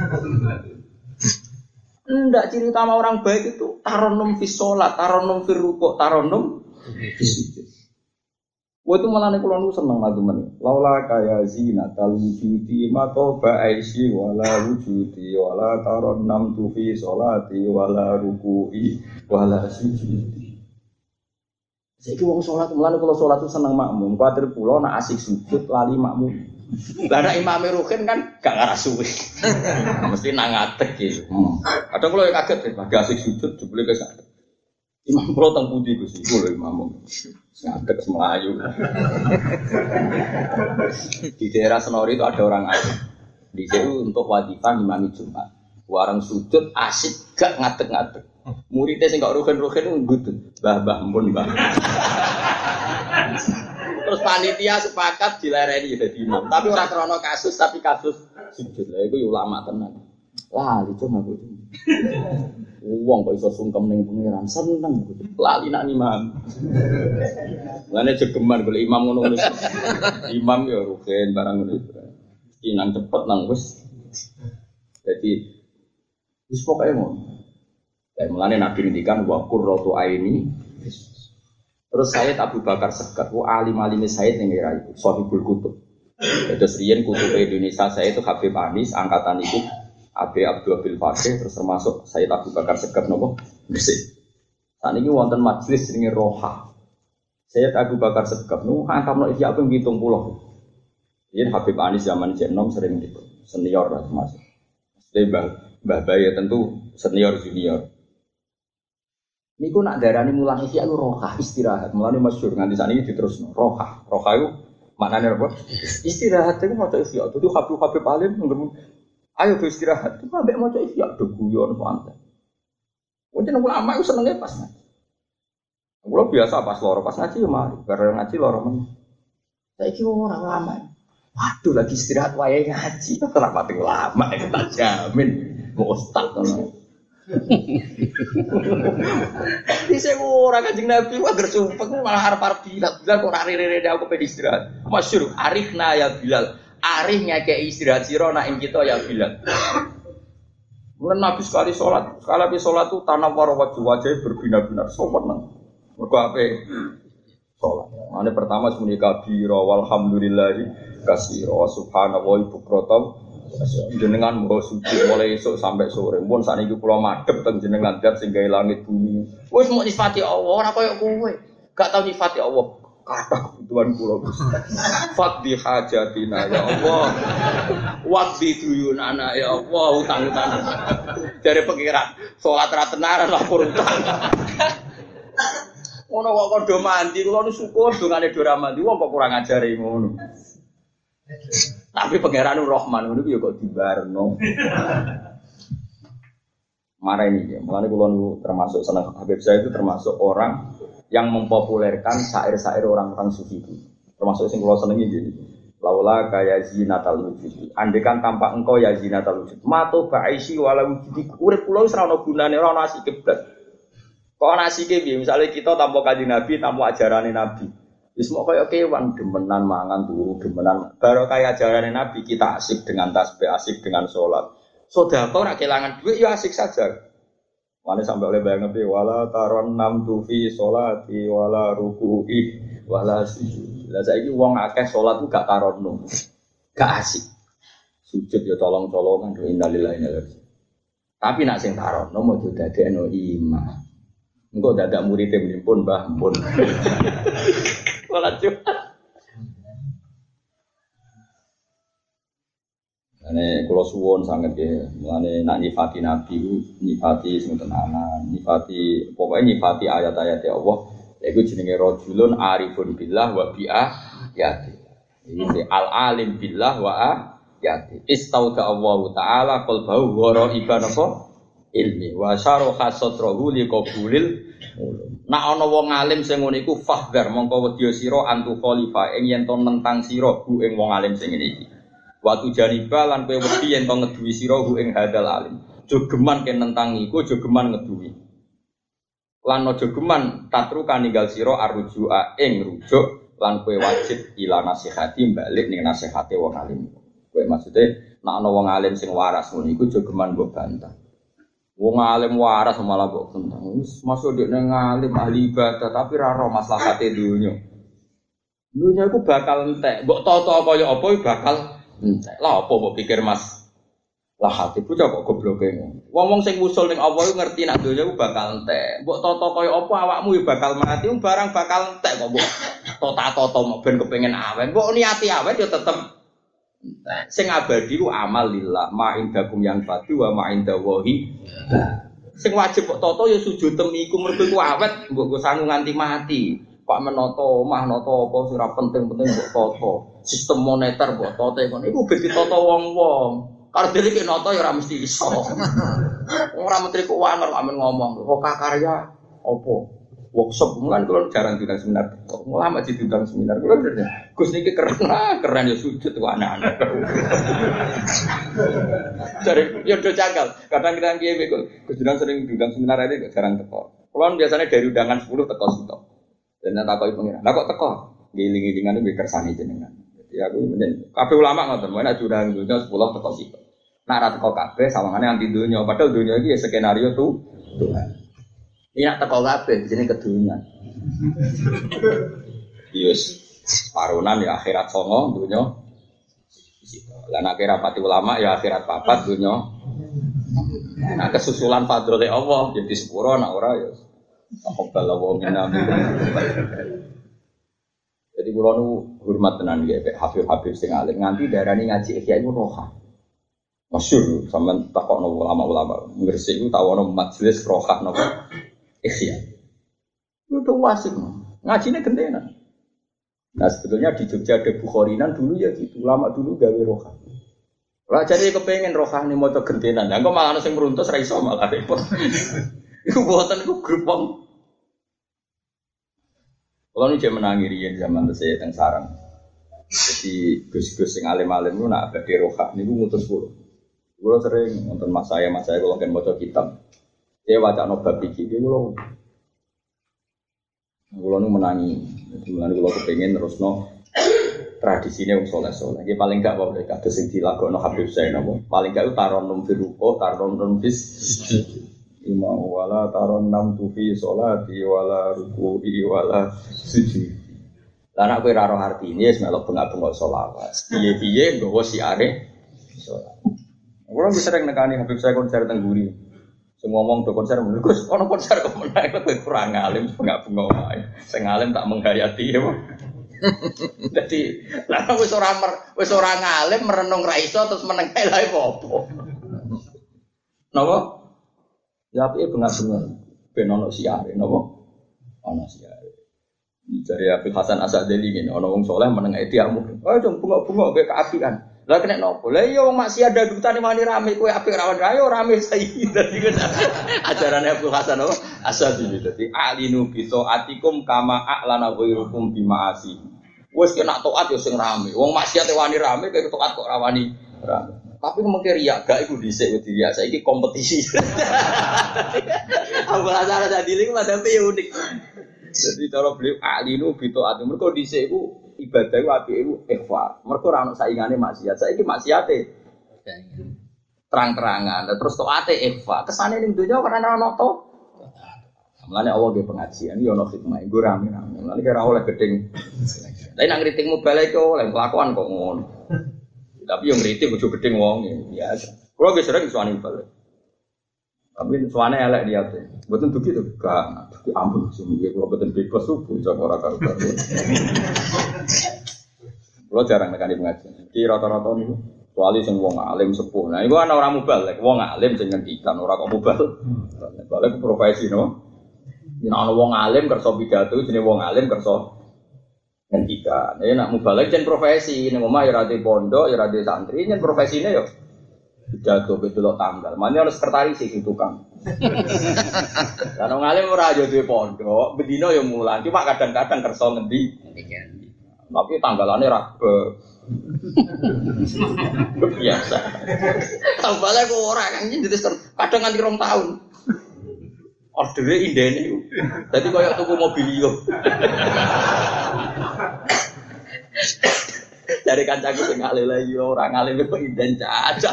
Enggak, ciri utama orang baik itu taronum fi sholat, taronum fi rukuk, taronum fi sujud. Wah itu malah nih kalau seneng lagu mana. Laula kaya zina tal wujudi matoba aisi wala wujudi wala taronam tu fi sholati wala ruku'i wala sujudi. Saya kira orang sholat malah nih kalau sholat itu seneng makmum. Kuatir pulau nak asik sujud lali makmum. Karena Imam Rukin kan gak ngarah suwi. Mesti nangatek gitu. Hmm. Kadang kalau yang kaget ya, lagi asik sujud jebule kesana. Imam pulau teng pundi Gus iku lho imam. Ngadeg Melayu. Di daerah Senori itu ada orang alim. Di situ untuk wajibah imami Jumat. Warang sujud asik gak ngadeg-ngadeg. Muridnya sing gak rugen-rugen ngudut. Mbah-mbah ampun mbah. Terus panitia sepakat dilereni jadi imam. Tapi ora krono kasus tapi kasus sujud. Lah iku ulama tenan. Wah, itu aku itu. Wong kok iso sungkem ning pangeran, seneng gitu. Lali nak imam. Lane jegeman golek imam ngono-ngono. Imam ya rugen barang ngono. Iki nang cepet nang wis. Jadi wis pokoke ngono. Kayak mulane Nabi ngendikan wa qurratu aini. Terus Sayyid Abu Bakar Sekat, wa alim-alime Sayyid ning era iku, Sahibul Kutub. Terus riyen kutub Indonesia saya itu Habib Anis angkatan itu Abi Abdul Abil Fakih, terus termasuk Sayyid Abu Bakar Segaf nopo Gresik. Saat ini wonten majelis jenenge Roha. Sayyid Abu Bakar Segaf nu angkamno iki apa ngitung puluh. Yen Habib Anis zaman Jenom sering gitu, senior lah termasuk. Mesti Mbah Mbah Bayi tentu senior junior. Niku nak darani mulang iki aku Roha istirahat. Mulane masyhur nganti sakniki diterusno Roha. Roha iku maknane apa? Istirahat iku maca isya. Dadi Habib Habib alim ngger ayo do istirahat, itu ambek maca isya do guyon santai. Mungkin ulama itu senenge pas ngaji. Kulo biasa pas loro pas ngaji ya mari, bareng ngaji loro men. Saiki ora ulama. Waduh lagi istirahat wae ngaji. Kenapa tuh ulama itu tak jamin mau ustaz ngono. Di sing ora Kanjeng Nabi wae gersumpek malah arep-arep Bilal, Bilal kok ora rene-rene aku pengen istirahat. Masyhur arifna ya Bilal. Arif ngekei istirahat sira nak ing kita ya Bilal. Mulane Nabi sekali sholat, sekali habis sholat itu tanah wajah wajah berbinar-binar sopan. Mergo ape sholat. Mane pertama semuanya kabira walhamdulillahi katsira subhanallahi bukratan. Jenengan mbok suci mulai esuk sampai sore. Mun sakniki kula madhep teng jenengan zat sing gawe langit bumi. Wis mok nyifati Allah ora koyo kowe. Gak tau nyifati Allah. kata kebutuhan kula. Fadhi hajatina ya Allah. Wadhi duyunana ya Allah, utang-utang. Dari pengiran salat ra tenaran lapor utang. Ngono kok kondo mandi kula nu syukur dongane do ra mandi wong kok kurang ajare ngono. Tapi pangeran Rahman ngono ya kok dibarno. Marah ini ya, makanya kalau termasuk senang Habib saya itu termasuk orang yang mempopulerkan syair-syair orang-orang sufi itu. Termasuk yang kalau senengi gini, laula kaya zinatal wujud. Andekan tanpa engkau ya zinatal wujud. Mato ba'isi wala wujud. Urip pulau serana gunane ora ana asike blas. Kok ana asike piye? Misale kita tanpa kanjeng Nabi, tanpa ajarane Nabi. Wis mok kaya kewan demenan mangan turu, demenan baru kaya ajarane Nabi kita asik dengan tasbih, asik dengan salat. Sedekah ora kelangan duit ya asik saja. Mane sampai oleh bayang Nabi wala taron nam tufi sholati wala ruku'i wala sujud. Lah saiki wong akeh salat ku gak taronno. Gak asik. Sujud ya tolong-tolongan innalillahi wa inna ilaihi. Tapi nak sing taronno mau dadekno imam. Engko dadak murid e pun Mbah pun. Salat Jumat. Ane kula suwun sanget ya, mulane nak nyifati nabi ku nyifati sing tenanan, nyifati pokoke nyifati ayat-ayat Allah, iku jenenge rajulun arifun billah wa bi'ayati. Iki al-alim billah wa ayati. Istauda Allah taala qalbahu ghaiban apa ilmi wa syaraha satrahu liqabulil ulum. Nak ana wong alim sing ngene iku fahdar mongko wedya sira antu khalifa ing yen to nentang sira bu ing wong alim sing ngene iki. Watu jariba lan kowe wedi yen to ngeduwi sira hu ing hadal alim. Jogeman ken nentang iku jogeman ngeduwi. Lan aja geman tatru kaninggal sira arujua ing rujuk lan kowe wajib ila nasihati balik ning nasihate wong alim. Kowe maksude nek ana wong alim sing waras ngono iku jogeman mbok bantah. Wong alim waras malah mbok bantah. Wis masuk nek nang alim ahli ibadah tapi ra ro maslahate dunya. Dunya iku bakal entek. Mbok tata kaya apa bakal entek. Lah apa mbok pikir Mas? Lah hati bocah kok gobloke ngono. Wong-wong sing usul ning Allah iku ngerti nek donya iku bakal entek. Mbok tata kaya apa awakmu ya bakal mati, wong barang bakal entek kok mbok tata-tata mok ben kepengin awet. Mbok niati awet ya tetep entek. Sing abadi ku amal lillah, ma indakum yang fadu wa ma indallahi. Sing wajib kok tata ya sujud temi iku mergo ku awet, mbok go sangu nganti mati. Pak menata omah nata apa sing ora penting-penting mbok tata. Sistem moneter mbok tata ngono iku ben ditata wong-wong. Karo dhewe ki nata ya ora mesti iso. Ora menteri keuangan kok amen ngomong, kok karya apa? Workshop mulan kula jarang diundang seminar. Kok lama di diundang seminar. Kula bener. Gus niki keren, keren ya sujud kok anak-anak. Cari ya do janggal. Kadang kita kiye kok Gus Dinan sering diundang seminar aja jarang teko. Kula biasanya dari undangan sepuluh teko sitok. Dan takoki pengira. Lah kok teko? Giling-gilingan iki kersane jenengan. Jadi aku menen kabeh ulama ngoten, menak diundang dunya sepuluh teko sitok. Nak ra teko kabeh sawangane anti dunya, padahal dunya iki ya skenario tuh Tuhan. Ini nak teko kabeh jenenge kedunya. Yes, parunan ya akhirat songo dunya. Lah nek rapati ulama ya akhirat papat dunya. Nah kesusulan fadhole Allah jadi sepuro nek ora ya taqabbal wa minna. Jadi kula nu hormat tenan nggih Habib-habib sing alim nganti darani ngaji ikhya iku roha. Masyhur sampean takokno ulama-ulama Gresik iku tau ana majelis roha napa ikhya. Itu wasik ngajine gentenan. Nah sebetulnya di Jogja ada Bukharinan dulu ya gitu, ulama dulu gawe roha. Lah jadi kepengen roha nih maca gentenan. Lah kok malah ana sing meruntus ra iso malah repot. Iku buatan iku grup wong. Kalau ini dia menangi riyen zaman saya teng sarang. Jadi gus-gus sing alim-alim ku nak badhe roha niku ngutus kula. Kula sering nonton mas saya, mas saya kula kan maca kitab. Dia wacana bab iki kula. Kula nu menangi. Jadi mulane kula kepengin terusno tradisine wong saleh-saleh. Iki paling gak wae kados sing dilakokno Habib Zain napa. Paling gak taronum firuqo, taronum bis Ima wala taron nam tufi sholati wala ruku'i wala sujud. Lah nek kowe ora roh artine wis melok bengak-bengok selawat. Piye-piye nggawa siare salat. Kulo wis sering nekani Habib saya konser teng Guri. Sing ngomong do konser meneh Gus, ono konser kok meneh kowe kurang alim bengak-bengok wae. Sing alim tak menghayati ya. Dadi lha wis ora wis ora ngalim merenung ra iso terus meneng ae lha opo. Napa? Ya apike benar-benar ben ono siare napa? Ono siare. Dari Abdul Hasan Asadili ngene, ana wong saleh meneng ae diamu. Oh, cung bunga-bunga kowe kaapian. Lah kena nopo? Lah iya wong maksiat dadutane wani rame kowe apik ra wani ayo rame saiki. Dadi ajarane Abdul Hasan apa? Asadili dadi alinu bi taatikum kama a'lana ghairukum bi ma'asi. Wis kena taat yo sing rame. Wong maksiat wani rame kowe taat kok ra wani rame. Tapi mengke riya gak iku dhisik wedi riya saiki kompetisi. Abdul Hasan Asadili ku madhape yo unik. Jadi cara beliau alinu bi taat mergo dhisik iku ibadah itu api itu ikhfa. Mereka orang saingane maksiat. Saiki maksiate terang-terangan. Terus toate ikhfa. Kesane ning dunya karena ana to. Mulane Allah ge pengajian yo ono hikmah. Nggo rame-rame. Mulane kira oleh gedeng. Tapi nang ngritikmu balik oleh kelakuan kok ngono. Tapi yo ngritik ojo gedeng wong biasa. Kulo ge sering suwani balik. Tapi suwane elek dia tuh. Mboten dugi to, gak. Dugi ampun sing iki kula mboten bebas subuh jam ora karo-karo. Kulo jarang nekani pengajian. Iki rata-rata niku kecuali sing wong alim sepuh. Nah, iku ana ora mubalek, wong alim sing ngendikan ora kok mubal. Balik profesi no. Yen ana wong alim kersa pidato jenenge wong alim kersa ngendikan. Nek nak mubalek jen profesi ning omah ya ora di pondok, ya ora di santri, jen profesine yo pidato betul tanggal. Mane ana sekretaris iki tukang. Lah wong alim ora yo duwe pondok, bendina yo mulang, cuma kadang-kadang kersa ngendi. Tapi tanggalane ra biasa. Tambale kok ora kan jadi kadang nganti rong tahun. Ordere indene iku. Dadi koyo tuku mobil yo. Dari kancaku sing ngalih lagi ora ngalih kok inden cacat.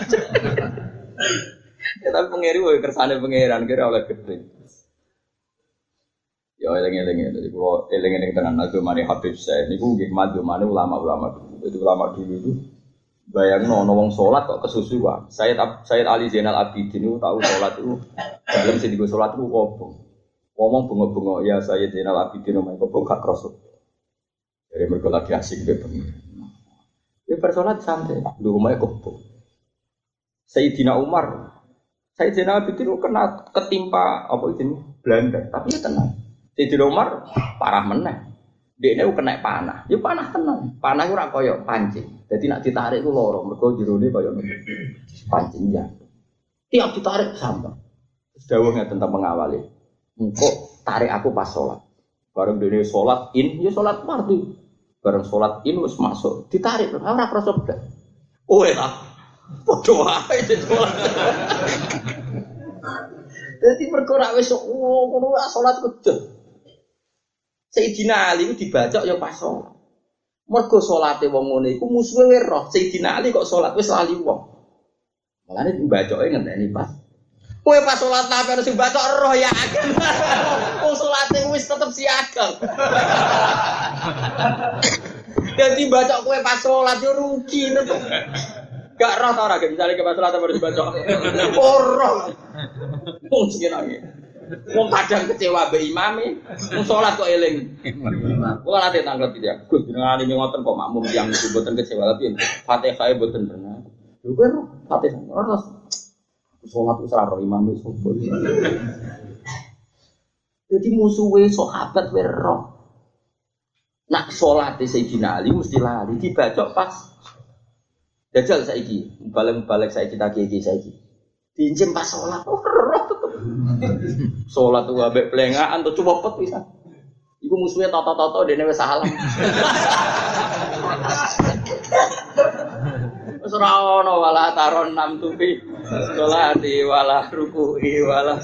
Ya tapi pengeri wae kersane pangeran kira oleh gede. Ya eling-eling dadi kula eling-eling tenan agama Habib Syekh niku nggih madhumane ulama-ulama dulu. Itu ulama dulu itu bayangno ana wong salat kok kesusuan. Sayyid Sayyid Ali Zainal Abidin niku tahu salat itu dalam sing digo salat itu opo. Ngomong bunga-bunga ya Sayyid Zainal Abidin omah kok gak krosok. Dari mergo lagi asik be pengen. Ya persoalan santai, di rumahnya kok. Sayyidina Umar, Sayyidina Abidin itu kena ketimpa apa itu Belanda, tapi ya tenang. Sayyidina Umar parah meneh. Dia ini kena panah, ya panah tenang. Panah itu ora koyo pancing. Jadi nak ditarik itu loro, mergo jerone koyo pancing ya. Tiap ditarik sama. Dawuhnya tentang mengawali. Engko tarik aku pas sholat. Bareng dene sholat in, ya sholat fardu. Bareng sholat in wis masuk, ditarik ora krasa blas. Kowe ta. Padha wae sholat. Dadi perkara wis ngono ora sholat kedhe. Sayyidina Ali ku dibacok ya pas sholat. Mergo salate wong ngene iku musuhe roh. Sayyidina Ali kok sholat wis lali wong. Mulane dibacoke ngenteni pas. Kowe pas sholat nabi harus dibacok roh ya agen. Wong salate wis tetep siaga. Dadi bacok kowe pas sholat yo rugi tetep. Gak roh ta ora ge misale ke pas sholat harus dibacok. Ora. Wong sing nangis. Wong kadang kecewa mbek imame, wong salat kok eling. Kula nate tanglet iki ya. Gus jenengan iki ngoten kok makmum tiyang niku mboten kecewa tapi Fatihah e mboten bener. Lho kok Fatihah ora salat wis ora imame sopo. Dadi musuhe sahabat wae roh. Nak salate Sayyidina Ali mesti lali dibacok pas. Jajal saiki, balik-balik saiki tak iki saiki. Diincim pas salat. Salat tuh ambek plengaan tuh cepet pisan. Iku musuhe toto-toto dene wis salam. Wis ora ono wala taron nam tupi. Salati wala ruku'i wala.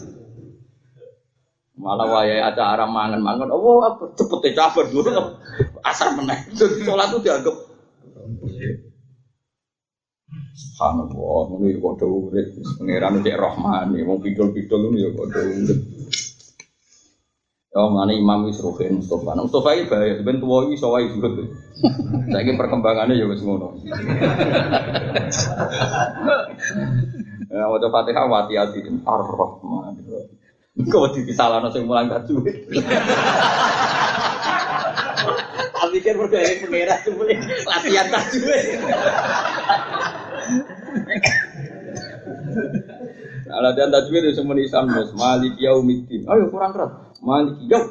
Malah wayahe acara mangan-mangan. Oh, apa cepete cabar dulu. Asar meneh. Salat tuh dianggap subhanallah, ngono ya padha urip, pangeran cek Rahman, wong pidol-pidol ngono ya padha urip. Ya mane Imam wis Ruhin Mustofa. Mustofa iki bahaya, ben tuwa iki iso wae juga. Saiki perkembangannya ya wis ngono. Ya waca Fatihah hati-hati Ar-Rahman. Kok disalahno sing mulang gak duwe. Tapi pikir mergo eling pengira jebule latihan tajwid. Nah, latihan tajwid itu semua isan bos. Malik yaumiddin. Ayo kurang keras. Malik yaum.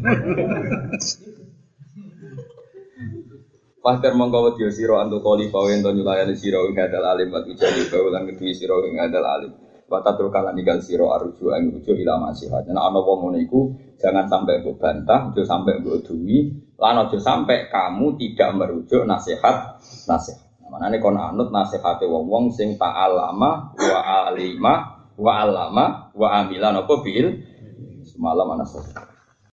Fakir mongko wedi sira antu kali pawe ento nyulayani sira ing hadal alim wa tujali bae lan kedhi sira ing hadal alim. Wa tatruk lan ninggal sira arju ing ujo ila masihat. Nek ana wong ngene iku jangan sampai mbok bantah, aja sampai mbok duwi, lan aja sampai kamu tidak merujuk nasihat nasihat. Manane kon anut nasihate wong-wong sing ta'alama wa alima wa alama wa amila napa bil semalam ana